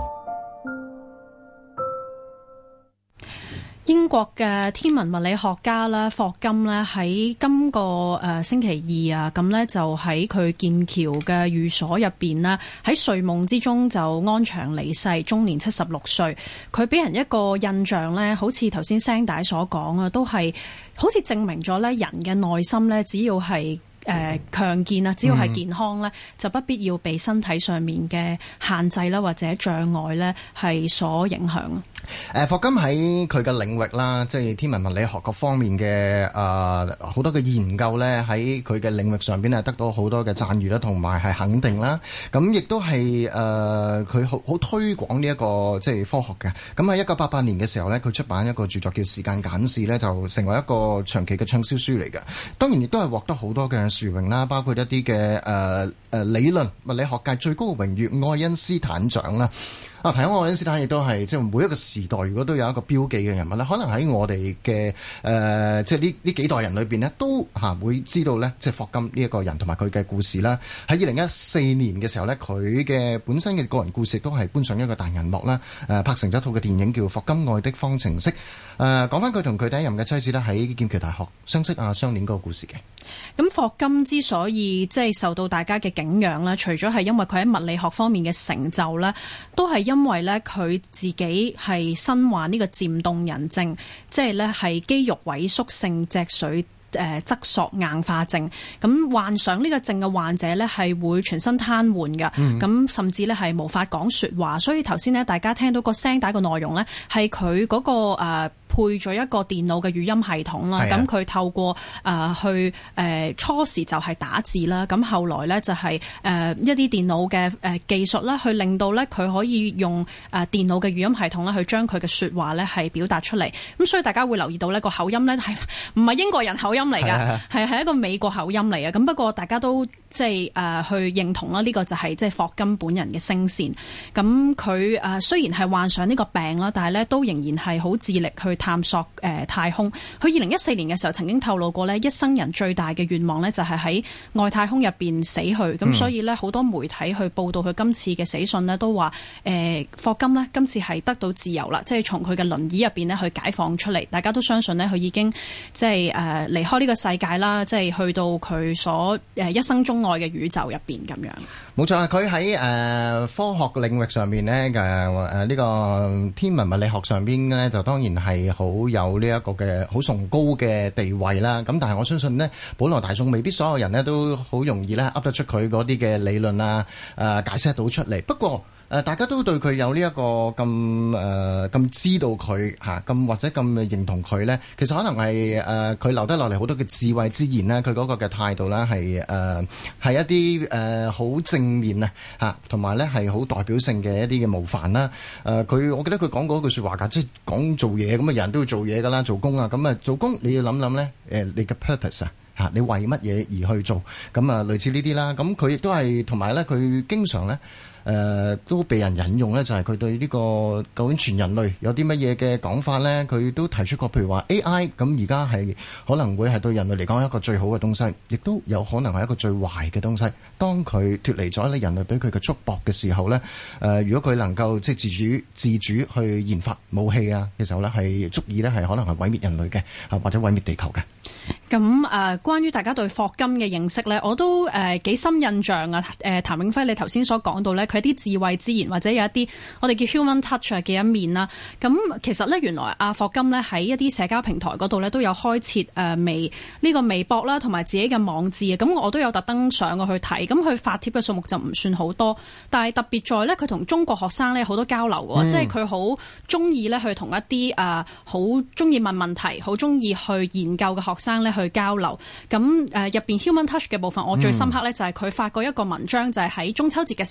英國嘅天文物理學家咧霍金咧喺今個誒星期二啊，咁咧就喺佢劍橋嘅寓所入邊咧，喺睡夢之中就安詳離世，終年七十六歲。佢俾人一個印象咧，好似頭先聲帶所講啊，都係好似證明咗咧人嘅內心咧，只要係誒強健啊，只要係健康咧，嗯、就不必要被身體上面嘅限制啦，或者障礙咧係所影響。 誒霍金喺佢嘅領域啦，即係天文物理學各方面嘅誒好多嘅研究咧，喺佢嘅領域上邊係得到好多嘅讚譽啦，同埋係肯定啦。咁亦都係誒佢好好推廣呢一個即係科學嘅。咁喺一九八八年嘅時候咧，佢出版一個著作叫《時間簡史》咧，就成為一個長期嘅暢銷書嚟嘅。當然亦都係獲得好多嘅殊榮啦，包括一啲嘅誒誒理論物理學界最高嘅榮譽愛因斯坦獎啦。啊，提起愛因斯坦亦都係即係每一個時代，如果都有一個標記嘅人物咧，可能喺我哋嘅誒即係呢呢幾代人裏邊咧，都嚇會知道咧，即係霍金呢一個人同埋佢嘅故事啦。喺二零一四年嘅時候咧，佢嘅本身嘅個人故事都係搬上一個大銀幕啦，誒拍成咗一套嘅電影叫《霍金愛的方程式》。誒講翻佢同佢第一任嘅妻子咧喺劍橋大學相識啊相戀嗰個故事嘅。 咁霍金之所以即係受到大家嘅敬仰啦，除咗係因為佢喺物理學方面嘅成就咧，都係因為咧佢自己係身患呢個漸凍人症，即係咧係肌肉萎縮性脊髓誒側索硬化症。咁患上呢個症嘅患者咧係會全身癱瘓嘅，咁、嗯、甚至咧係無法講說話。所以頭先咧大家聽到個聲帶個內容咧係佢嗰個誒。呃配咗一個電腦嘅語音系統啦，咁佢透過誒、呃、去誒、呃、初時就係打字啦，咁後來咧就係、是、誒、呃、一啲電腦嘅誒技術啦，去令到咧佢可以用誒電腦嘅語音系統咧去將佢嘅說話咧係表達出嚟。咁所以大家會留意到呢個口音咧係唔係英國人口音嚟㗎，係係一個美國口音嚟嘅。咁不過大家都即係誒去認同啦，呢、這個就係即係霍金本人嘅聲線。咁佢誒雖然係患上呢個病啦，但係咧都仍然係好致力去探索誒、呃、太空。佢二零一四年嘅時候曾經透露過咧，一生人最大嘅願望咧就係喺外太空入邊死去。咁、嗯、所以咧好多媒體去報道佢今次嘅死訊咧，都話誒、呃、霍金咧今次係得到自由啦，即係從佢嘅輪椅入邊咧去解放出嚟。大家都相信咧佢已經即係誒離開呢個世界啦，即係去到佢所誒一生中愛嘅宇宙入邊咁樣。 冇錯啊！佢喺誒科學領域上面咧嘅誒呢個天文物理學上邊咧，就當然係好有呢一個嘅好崇高嘅地位啦。咁但係我相信呢，普羅大眾未必所有人呢都好容易咧噏得出佢嗰啲嘅理論啊，誒解釋到出嚟。不過誒大家都對佢有呢一個咁誒咁知道佢嚇咁或者咁認同佢咧，其實可能係誒佢留低落嚟好多嘅智慧之言啦，佢嗰個嘅態度啦係誒係一啲誒好正面啊嚇，同埋咧係好代表性嘅一啲嘅模範啦。誒佢我記得佢講過一句説話㗎，即係講做嘢咁啊，人都要做嘢㗎啦，做工啊，咁啊做工你要諗諗咧誒你嘅 purpose 啊。嚇！你為乜嘢而去做？咁啊，類似呢啲啦。咁佢亦都係同埋咧，佢經常咧誒、呃、都被人引用咧，就係、是、佢對呢、這個究竟全人類有啲乜嘢嘅講法咧？佢都提出過，譬如話 A I 咁而家係可能會係對人類嚟講一個最好嘅東西，亦都有可能係一個最壞嘅東西。當佢脫離咗咧人類俾佢嘅束縛嘅時候咧，誒、呃、如果佢能夠即係自主自主去研發武器啊嘅時候咧，係足以咧係可能係毀滅人類嘅啊，或者毀滅地球嘅。 咁誒、呃，關於大家對霍金嘅認識咧，我都誒幾、呃、深印象啊！誒、呃，譚永輝，你頭先所講到咧，佢一啲智慧之言，或者有一啲我哋叫 human touch 嘅一面啦。咁其實咧，原來阿霍金咧喺一啲社交平台嗰度咧，都有開設誒、呃、微呢、這個微博啦，同埋自己嘅網誌啊。咁我都有特登上過去睇，咁佢發帖嘅數目就唔算好多，但係特別在咧，佢同中國學生咧好多交流喎，嗯、即係佢好中意咧去同一啲誒好中意問問題、好中意去研究嘅學生咧去交流。咁誒入邊 human touch 嘅部分，我最深刻咧就係佢發過一個文章，就係喺中秋節嘅時候發嘅。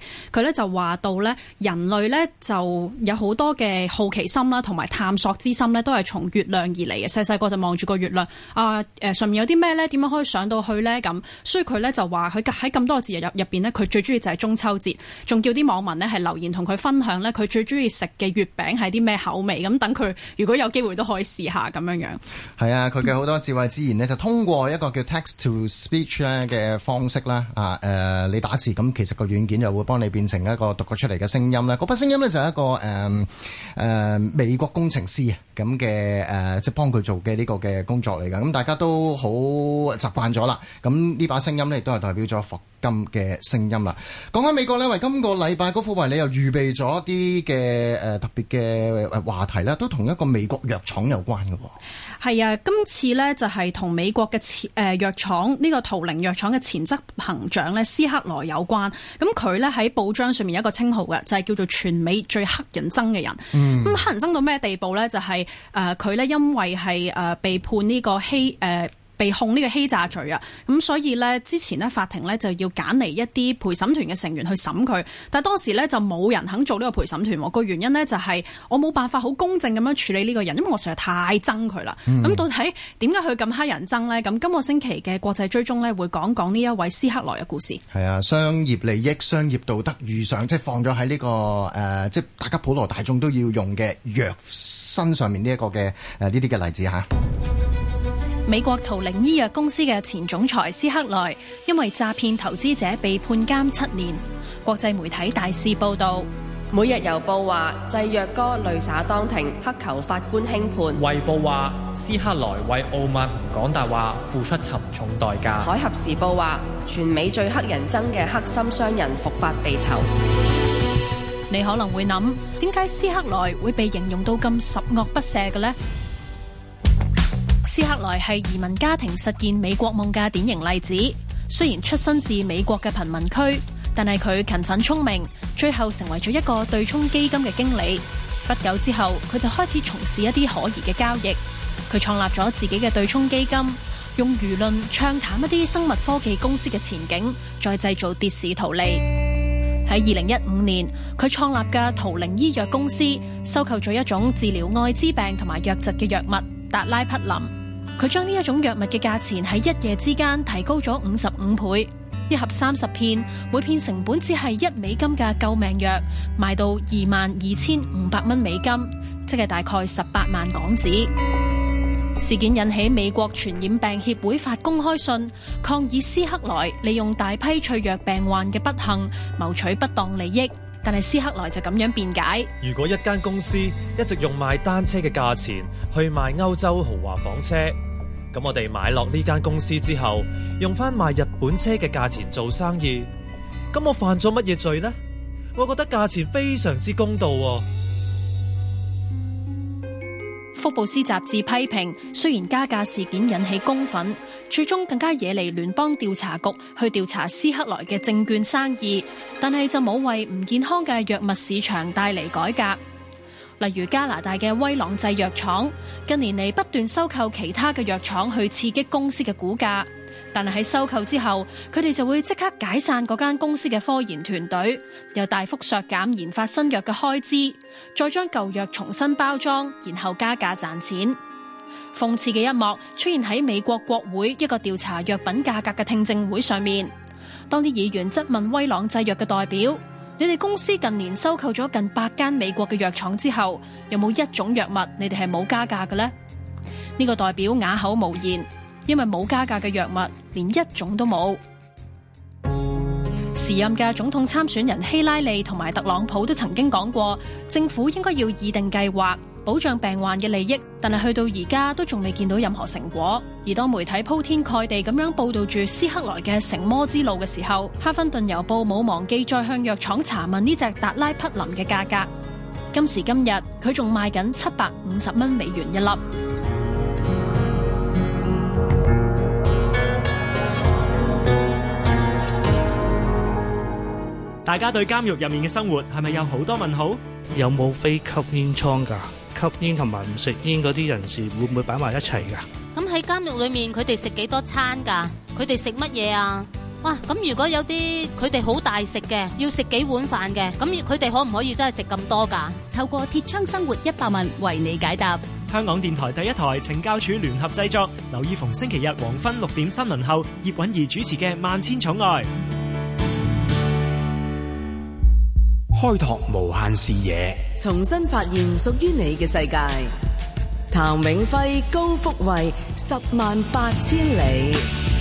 佢咧就話到咧，人類咧就有好多嘅好奇心啦，同埋探索之心咧，都係從月亮而嚟嘅。細細個就望住個月亮啊，誒上面有啲咩咧？點樣可以上到去咧？咁所以佢咧就話佢喺咁多個節日入入邊咧，佢最中意就係中秋節，仲叫啲網民咧係留言同佢分享咧，佢最中意食嘅月餅係啲咩口味？咁等佢如果有機會都可以試下咁樣樣。 係啊，佢嘅好多智慧之言呢，就通過一個叫 text to speech 咧嘅方式啦，啊誒、呃，你打字咁，其實個軟件就會幫你變成一個讀過出嚟嘅聲音啦。嗰筆聲音呢，就係一個誒誒、呃呃、美國工程師啊咁嘅誒，即係幫佢做嘅呢個嘅工作嚟㗎。咁大家都好習慣咗啦。咁呢把聲音呢，亦都係代表咗霍金嘅聲音啦。講緊美國呢，為今個禮拜嗰副為你又預備咗啲嘅誒特別嘅話題啦，都同一個美國藥廠有關嘅。 係啊，今次呢就係同美國嘅前誒藥廠呢個圖靈藥廠嘅前執行長呢斯克萊有關。咁佢呢喺報章上面有一個稱號嘅，就係、是、叫做全美最乞人憎嘅人。咁、嗯、乞人憎到咩地步呢？就係誒佢呢因為係誒、呃、被判呢個欺誒。呃被控呢個欺詐罪啊，咁所以呢，之前呢法庭呢就要揀嚟一啲陪審團嘅成員去審佢，但係當時呢就冇人肯做呢個陪審團，個原因呢就係我冇辦法好公正咁樣處理呢個人，因為我實在太憎佢啦。咁、嗯、到底點解佢咁乞人憎呢？咁今個星期嘅國際追蹤呢會講講呢一位斯克萊嘅故事。係啊，商業利益、商業道德遇上，即係放咗喺呢個誒、呃，即係大家普羅大眾都要用嘅藥身上面呢一個嘅誒呢啲嘅例子嚇。 美國圖靈醫藥公司嘅前總裁斯克萊因為詐騙投資者被判監七年，國際媒體大肆報道。 每日郵報話製藥哥淚灑當庭，乞求法官輕判。 衛報話斯克萊為傲慢同講大話付出沉重代價。 海峽時報話全美最乞人憎嘅黑心商人伏法被囚。 你可能會諗，點解斯克萊會被形容到咁十惡不赦嘅呢？斯克萊係移民家庭實現美國夢嘅典型例子。雖然出身自美國嘅貧民區，但係佢勤奮聰明，最後成為咗一個對沖基金嘅經理。不久之後，佢就開始從事一啲可疑嘅交易。佢創立咗自己嘅對沖基金，用輿論唱淡一啲生物科技公司嘅前景，再製造跌市圖利。喺二零一五年，佢創立嘅圖靈醫藥公司收購咗一種治療艾滋病同埋瘧疾嘅藥物達拉匹林。佢將呢一種藥物嘅價錢喺一夜之間提高咗五十五倍，一盒三十片，每片成本只係一美金嘅救命藥，賣到二萬二千五百蚊美金，即係大概十八萬港紙。事件引起美國傳染病協會發公開信，抗議斯克萊利用大批脆弱病患嘅不幸謀取不當利益。但係斯克萊就咁樣辯解： 如果一間公司一直用賣單車嘅價錢去賣歐洲豪華房車，咁我哋買落呢間公司之後，用翻賣日本車嘅價錢做生意，咁我犯咗乜嘢罪呢？我覺得價錢非常之公道喎。 福布斯雜誌批評，雖然加價事件引起公憤，最終更加惹嚟聯邦調查局去調查斯克萊嘅證券生意，但係就冇為唔健康嘅藥物市場帶嚟改革。例如加拿大嘅威朗製藥廠，近年嚟不斷收購其他嘅藥廠去刺激公司嘅股價，但係喺收購之後，佢哋就會即刻解散嗰間公司嘅科研團隊，又大幅削減研發新藥嘅開支，再將舊藥重新包裝，然後加價賺錢。諷刺嘅一幕出現喺美國國會一個調查藥品價格嘅聽證會上面，當啲議員質問威朗製藥嘅代表：你哋公司近年收購咗近百間美國嘅藥廠之後，有冇一種藥物你哋係冇加價嘅呢？呢個代表啞口無言，因為冇加價嘅藥物連一種都冇。時任嘅總統參選人希拉里同埋特朗普都曾經講過，政府應該要擬定計劃保障病患嘅利益，但係去到而家都仲未見到任何成果。而當媒體鋪天蓋地咁樣報道住斯克萊嘅成魔之路嘅時候，哈芬頓郵報冇忘記再向藥廠查問呢隻達拉匹林嘅價格。今時今日，佢仲賣緊七百五十蚊美元一粒。 大家對監獄入面嘅生活係咪有好多問號？ 有冇非吸煙倉㗎？吸煙同埋唔食煙嗰啲人士會唔會擺埋一齊㗎？ 咁喺監獄裏面，佢哋食幾多餐㗎？佢哋食乜嘢啊？ 哇！咁如果有啲佢哋好大食嘅，要食幾碗飯嘅，咁佢哋可唔可以真係食咁多㗎？ 透過鐵窗生活一百問為你解答。 香港電台第一台懲教署聯合製作，留意逢星期日黃昏六點新聞後，葉韻儀主持嘅《萬千寵愛》， 開拓無限視野， 重新發現屬於你嘅世界。譚永輝、高福慧，十萬八千里。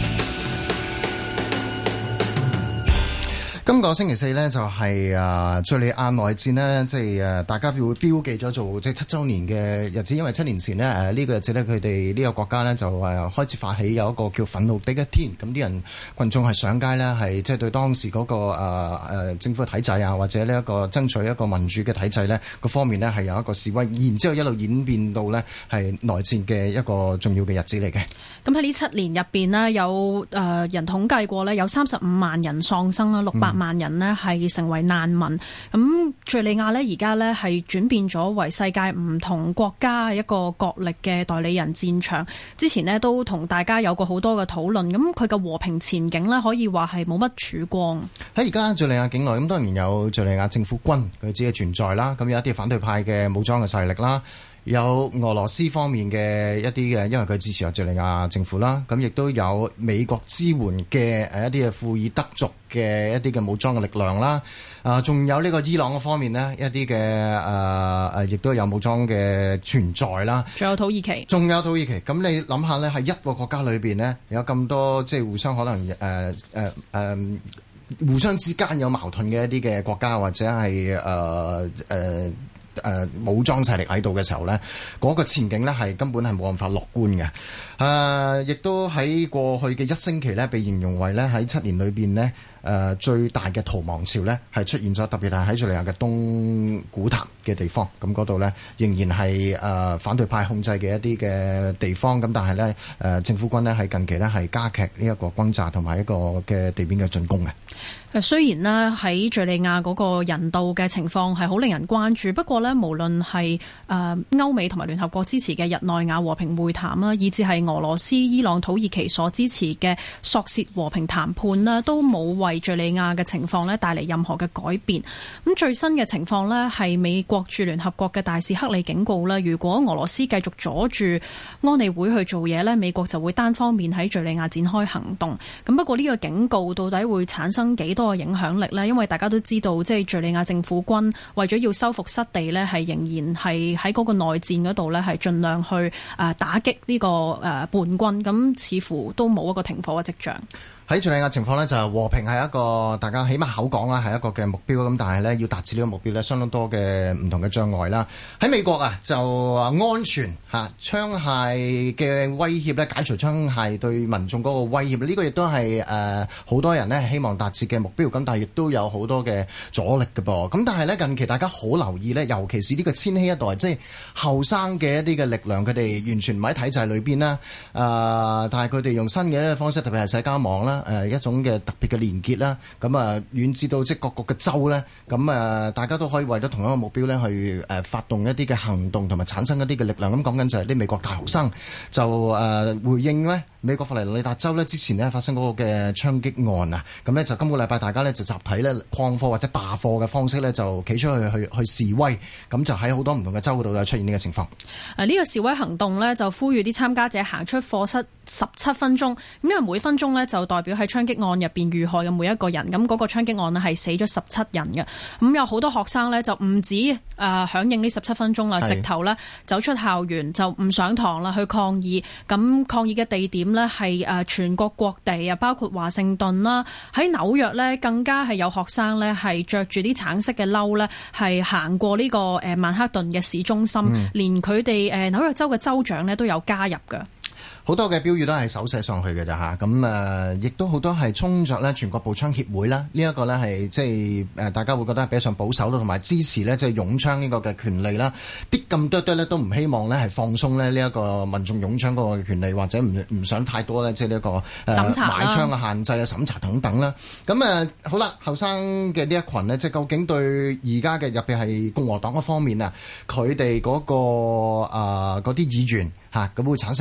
今個星期四呢，就係誒敍利亞內戰呢，即係誒大家會標記咗做即係七週年嘅日子，因為七年前呢，誒、這、呢個日子呢，佢哋呢個國家呢，就誒開始發起有一個叫憤怒的一天，咁啲人群眾係上街呢，係即係對當時嗰、那個誒誒、呃、政府嘅體制啊，或者呢一個爭取一個民主嘅體制呢個方面呢，係有一個示威，然之後一路演變到呢係內戰嘅一個重要嘅日子嚟嘅。 咁喺呢七年入邊呢，有誒人統計過呢，有三十五萬人喪生啦，六百萬人呢係成為難民。咁敍利亞呢，而家呢係轉變咗為世界唔同國家一個角力嘅代理人戰場。之前呢都同大家有過好多嘅討論，咁佢嘅和平前景呢，可以話係冇乜曙光。 喺而家敍利亞境內，咁當然有敍利亞政府軍佢自己嘅存在啦，咁有一啲反對派嘅武裝嘅勢力啦。有俄羅斯方面嘅一啲嘅，因為佢支持敍利亞政府啦，咁亦都有美國支援嘅誒一啲嘅庫爾德族嘅一啲嘅武裝嘅力量啦，啊，仲有呢個伊朗嘅方面呢，一啲嘅誒誒，亦都有武裝嘅存在啦。 仲有土耳其， 仲有土耳其。咁你諗下呢，喺一個國家裏邊呢，有咁多即係互相可能誒誒誒，互相之間有矛盾嘅一啲嘅國家，或者係誒誒。呃呃誒、呃、武裝勢力喺度嘅時候呢，嗰、那個前景呢係根本係冇辦法樂觀嘅。誒、呃，亦都喺過去嘅一星期呢，被形容為呢喺七年裏邊呢誒、呃、最大嘅逃亡潮呢係出現咗，特別係喺敍利亞嘅東古塔嘅地方。咁嗰度呢仍然係誒、呃、反對派控制嘅一啲嘅地方。咁但係呢，誒、呃、政府軍呢係近期呢係加劇呢一個轟炸同埋一個嘅地面嘅進攻嘅。 誒雖然呢喺敍利亞嗰個人道嘅情況係好令人關注，不過呢，無論係誒歐美同埋聯合國支持嘅日內瓦和平會談啦，以至係俄羅斯、伊朗、土耳其所支持嘅索契和平談判啦，都冇為敍利亞嘅情況呢帶嚟任何嘅改變。咁最新嘅情況呢，係美國駐聯合國嘅大使克里警告啦，如果俄羅斯繼續阻住安理會去做嘢呢，美國就會單方面喺敍利亞展開行動。咁不過呢個警告到底會產生幾多個影響力呢？因為大家都知道，即係敍利亞政府軍為咗要收復失地呢，係仍然係喺嗰個內戰嗰度呢，係盡量去誒打擊呢個誒叛軍。咁似乎都冇一個停火嘅跡象。 喺敍利亞情況呢，就係和平係一個大家起碼口講啦，係一個嘅目標。咁但係呢，要達至呢個目標呢，相當多嘅唔同嘅障礙啦。喺美國啊，就安全嚇槍械嘅威脅呢，解除槍械對民眾嗰個威脅，呢、這個亦都係誒好多人呢希望達至嘅目標。咁但係亦都有好多嘅阻力嘅噃。咁但係呢，近期大家好留意呢，尤其是呢個千禧一代，即係後生嘅一啲嘅力量，佢哋完全唔喺體制裏邊啦。誒、呃，但係佢哋用新嘅一個方式，特別係社交網啦。誒一種嘅特別嘅連結啦，咁啊遠至到即係各國嘅州咧，咁啊大家都可以為咗同一個目標咧去誒發動一啲嘅行動同埋產生一啲嘅力量。咁講緊就係啲美國大學生就誒回應咧美國佛羅里達州咧之前咧發生嗰個嘅槍擊案啊，咁咧就今個禮拜大家咧就集體咧曠課或者罷課嘅方式咧就企出去去去示威，咁就喺好多唔同嘅州嗰度出現呢個情況。 誒呢個示威行動咧就呼籲啲參加者行出課室十七分鐘，咁因為每分鐘咧就代表喺槍擊案入邊遇害嘅每一個人，咁、那、嗰個槍擊案呢係死咗十七人嘅，咁有好多學生呢，就唔止誒響應呢十七分鐘啦，直頭呢走出校園就唔上堂啦，去抗議。咁抗議嘅地點呢係誒全國各地啊，包括華盛頓啦，喺紐約呢更加係有學生呢係着住啲橙色嘅褸呢，係行過呢個誒曼克頓嘅市中心，嗯、連佢哋誒紐約州嘅州長呢都有加入嘅。 好多嘅標語都係手寫上去嘅咋嚇，咁誒亦都好多係衝着咧全國步槍協會啦，呢一個咧係即係誒大家會覺得係比較上保守咯，同埋支持咧即係擁槍呢個嘅權利啦，啲咁多多咧都唔希望咧係放鬆咧呢一個民眾擁槍嗰個權利，或者唔唔想太多咧即係呢一個誒、呃、 審查買槍嘅限制啊、審查等等啦。咁誒、呃、好啦，後生嘅呢一群呢，即係究竟對而家嘅入邊係共和黨嗰方面啊，佢哋嗰個嗰啲議員嚇咁會產生幾大嘅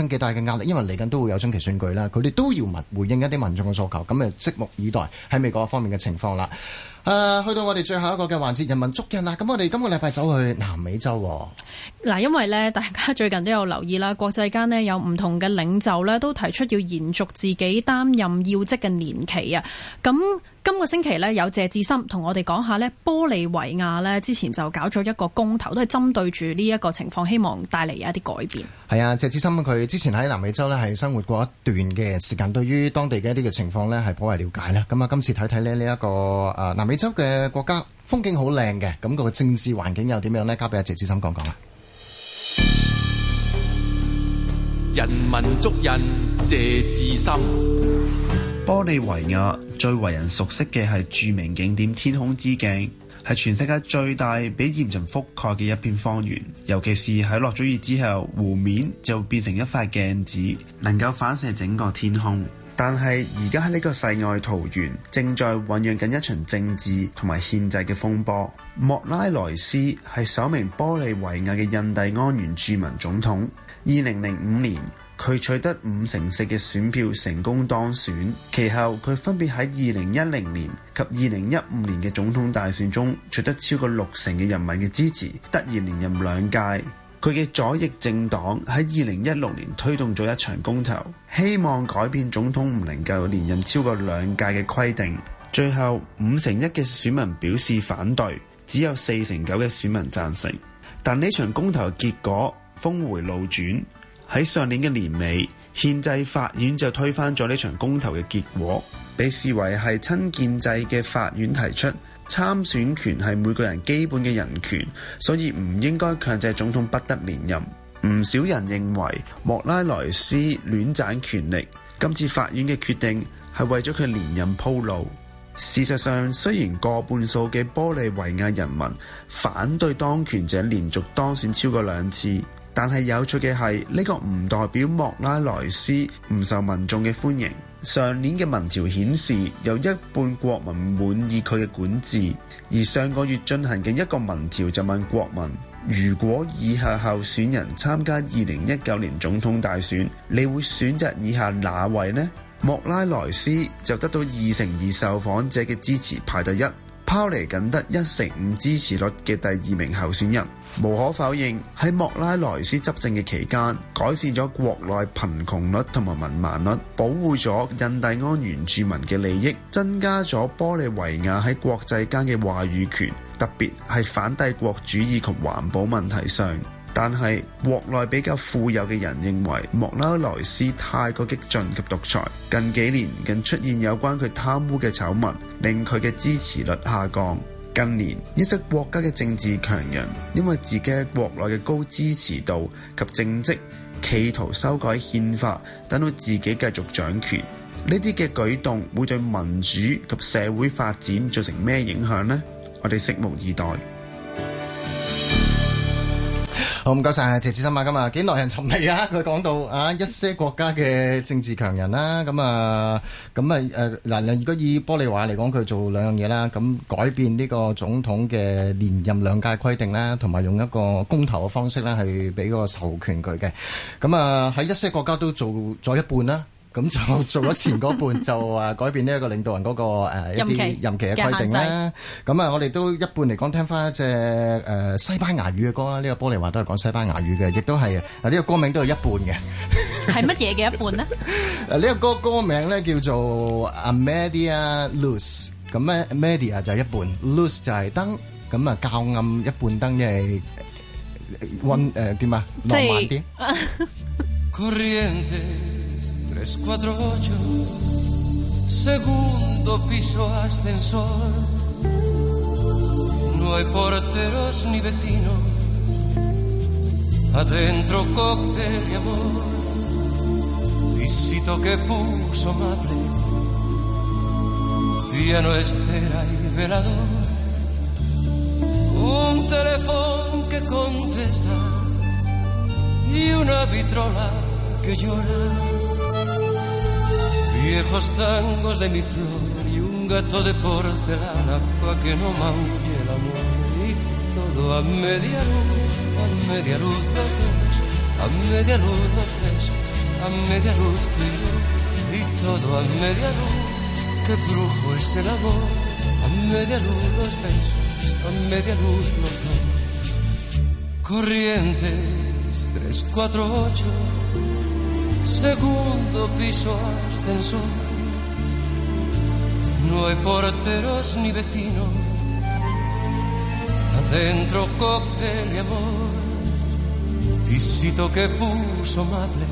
壓力，因為嚟緊都會有中期選舉啦，佢哋都要民回應一啲民眾嘅訴求，咁誒拭目以待喺美國方面嘅情況啦。誒、呃，去到我哋最後一個嘅環節，人文足印啦。咁我哋今個禮拜走去南美洲喎。 嗱，因為咧，大家最近都有留意啦，國際間呢有唔同嘅領袖咧，都提出要延續自己擔任要職嘅年期啊。咁今個星期呢，有謝智森同我哋講下呢，玻利維亞呢之前就搞咗一個公投，都係針對住呢一個情況，希望帶嚟有一啲改變。係啊，謝智森佢之前喺南美洲呢係生活過一段嘅時間，對於當地嘅一啲嘅情況呢係頗為了解啦。咁啊，今次睇睇呢呢一個誒南美洲嘅國家風景好靚嘅，咁個政治環境又點樣呢？交俾阿謝智森講講啦。 人文足印，謝智森。 玻利維亞最為人熟悉嘅係著名景點天空之鏡，係全世界最大、被鹽塵覆蓋嘅一片荒原。尤其是喺落咗雨之後，湖面就會變成一塊鏡子，能夠反射整個天空。但係而家喺呢個世外桃源，正在醖釀緊一場政治同埋憲制嘅風波。莫拉萊斯係首名玻利維亞嘅印第安原住民總統。二零零五年，佢取得五成四嘅選票成功當選，其後佢分別喺二零一零年及二零一五年嘅總統大選中取得超過六成嘅人民嘅支持，得以連任兩屆。佢嘅左翼政黨喺二零一六年推動咗一場公投，希望改變總統唔能夠連任超過兩屆嘅規定。最後五成一嘅選民表示反對，只有四成九嘅選民贊成。但呢場公投嘅結果峰迴路轉，喺上年嘅年尾，憲制法院就推翻咗呢場公投嘅結果，被視為係親建制嘅法院提出參選權係每個人基本嘅人權，所以唔應該強制總統不得連任。唔少人認為莫拉萊斯亂賺權力，今次法院嘅決定係為咗佢連任鋪路。事實上，雖然過半數嘅玻利維亞人民反對當權者連續當選超過兩次，但係有趣嘅係呢個唔代表莫拉萊斯唔受民眾嘅歡迎。上年嘅民調顯示，有一半國民滿意佢嘅管治，而上個月進行嘅一個民調就問國民，如果以下候選人參加二零一九年總統大選，你會選擇以下哪位呢？莫拉萊斯就得到二成二受訪者嘅支持，排第一，拋離僅得一成五支持率嘅第二名候選人。無可否認，喺莫拉萊斯執政嘅期間，改善咗國內貧窮率同埋文盲率，保護咗印第安原住民嘅利益，增加咗玻利維亞喺國際間嘅話語權，特別係反帝國主義及環保問題上。但係國內比較富有嘅人認為莫拉萊斯太過激進及獨裁，近幾年更出現有關佢貪污嘅醜聞，令佢嘅支持率下降。近年一些國家嘅政治強人因為自己喺國內嘅高支持度及政績，企圖修改憲法，等到自己繼續掌權。呢啲嘅舉動會對民主及社會發展造成咩影響呢？我哋拭目以待。 好，唔該晒謝智森啊，今日幾耐人尋味啊！佢講到啊一些國家嘅政治強人啦，咁啊咁啊誒嗱，如果以玻利維亞嚟講，佢做兩樣嘢啦，咁改變呢個總統嘅連任兩屆規定啦，同埋用一個公投嘅方式咧，係俾個授權佢嘅。咁啊喺一些國家都做咗一半啦。咁就做咗前嗰半就誒改變呢一個領導人嗰、那個誒、呃、一啲任期嘅規定啦。咁啊，我哋都一半嚟講聽翻一隻誒、呃、西班牙語嘅歌啦。呢、這個玻利維亞都係講西班牙語嘅，亦都係啊呢個歌名都有一半嘅。 係乜嘢嘅一半呢？ 誒呢個歌歌名咧叫做 A Media Luz。咁咧 Media 就係一半 ，Luz 就係燈。咁啊較暗一半燈，即係溫誒點啊浪漫啲。 tres cuatro ocho segundo piso ascensor no hay porteros ni vecinos adentro cóctel y amor visito que puso amable piano estera y velador un teléfono que contesta y una vitrola que llora viejos tangos de mi flor y un gato de porcelana pa' que no maulle el amor y todo a media luz, a media luz los dos, a media luz los tres, a media luz tú y yo, y todo a media luz. Qué brujo es el amor, a media luz los besos, a media luz los dos. Corrientes tres cuatro ocho, segundo piso ascensor. No hay porteros ni vecinos, adentro cóctel y amor. Visito que puso amable,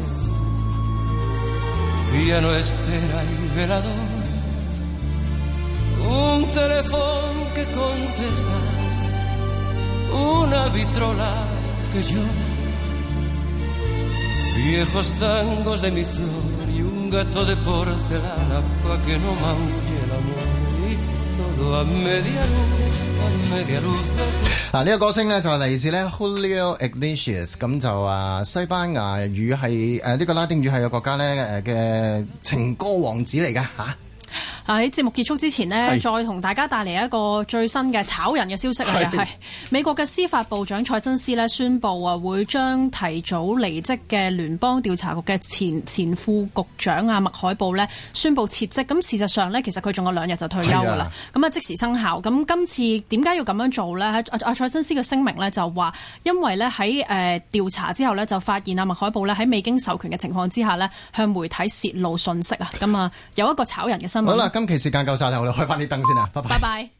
piano, estera y velador. Un teléfono que contesta, una vitrola que llora. Viejos tangos de mi flor y un gato de porcelana pa' que no maulle el amor. Y todo a media luz, a media luz。 嗱，呢個歌星咧就係嚟自咧 Julio Iglesias， 咁就啊西班牙語係誒呢個拉丁語系嘅國家咧誒嘅情歌王子嚟㗎嚇。 喺節目結束之前呢，再同大家帶嚟一個最新嘅炒人嘅消息啊！係美國嘅司法部長蔡真斯呢宣布啊，會將提早離職嘅聯邦調查局嘅前前副局長啊麥海布呢宣布撤職。咁事實上呢，其實佢仲有兩日就退休㗎啦。咁啊即時生效。咁今次點解要咁樣做呢？阿阿蔡真斯嘅聲明呢就話，因為呢喺誒調查之後呢，就發現啊麥海布呢喺未經授權嘅情況之下呢，向媒體泄露信息啊。咁啊有一個炒人嘅新聞。 好啦，今期時間夠晒啦，我哋開翻啲燈先啦，拜拜。 拜拜。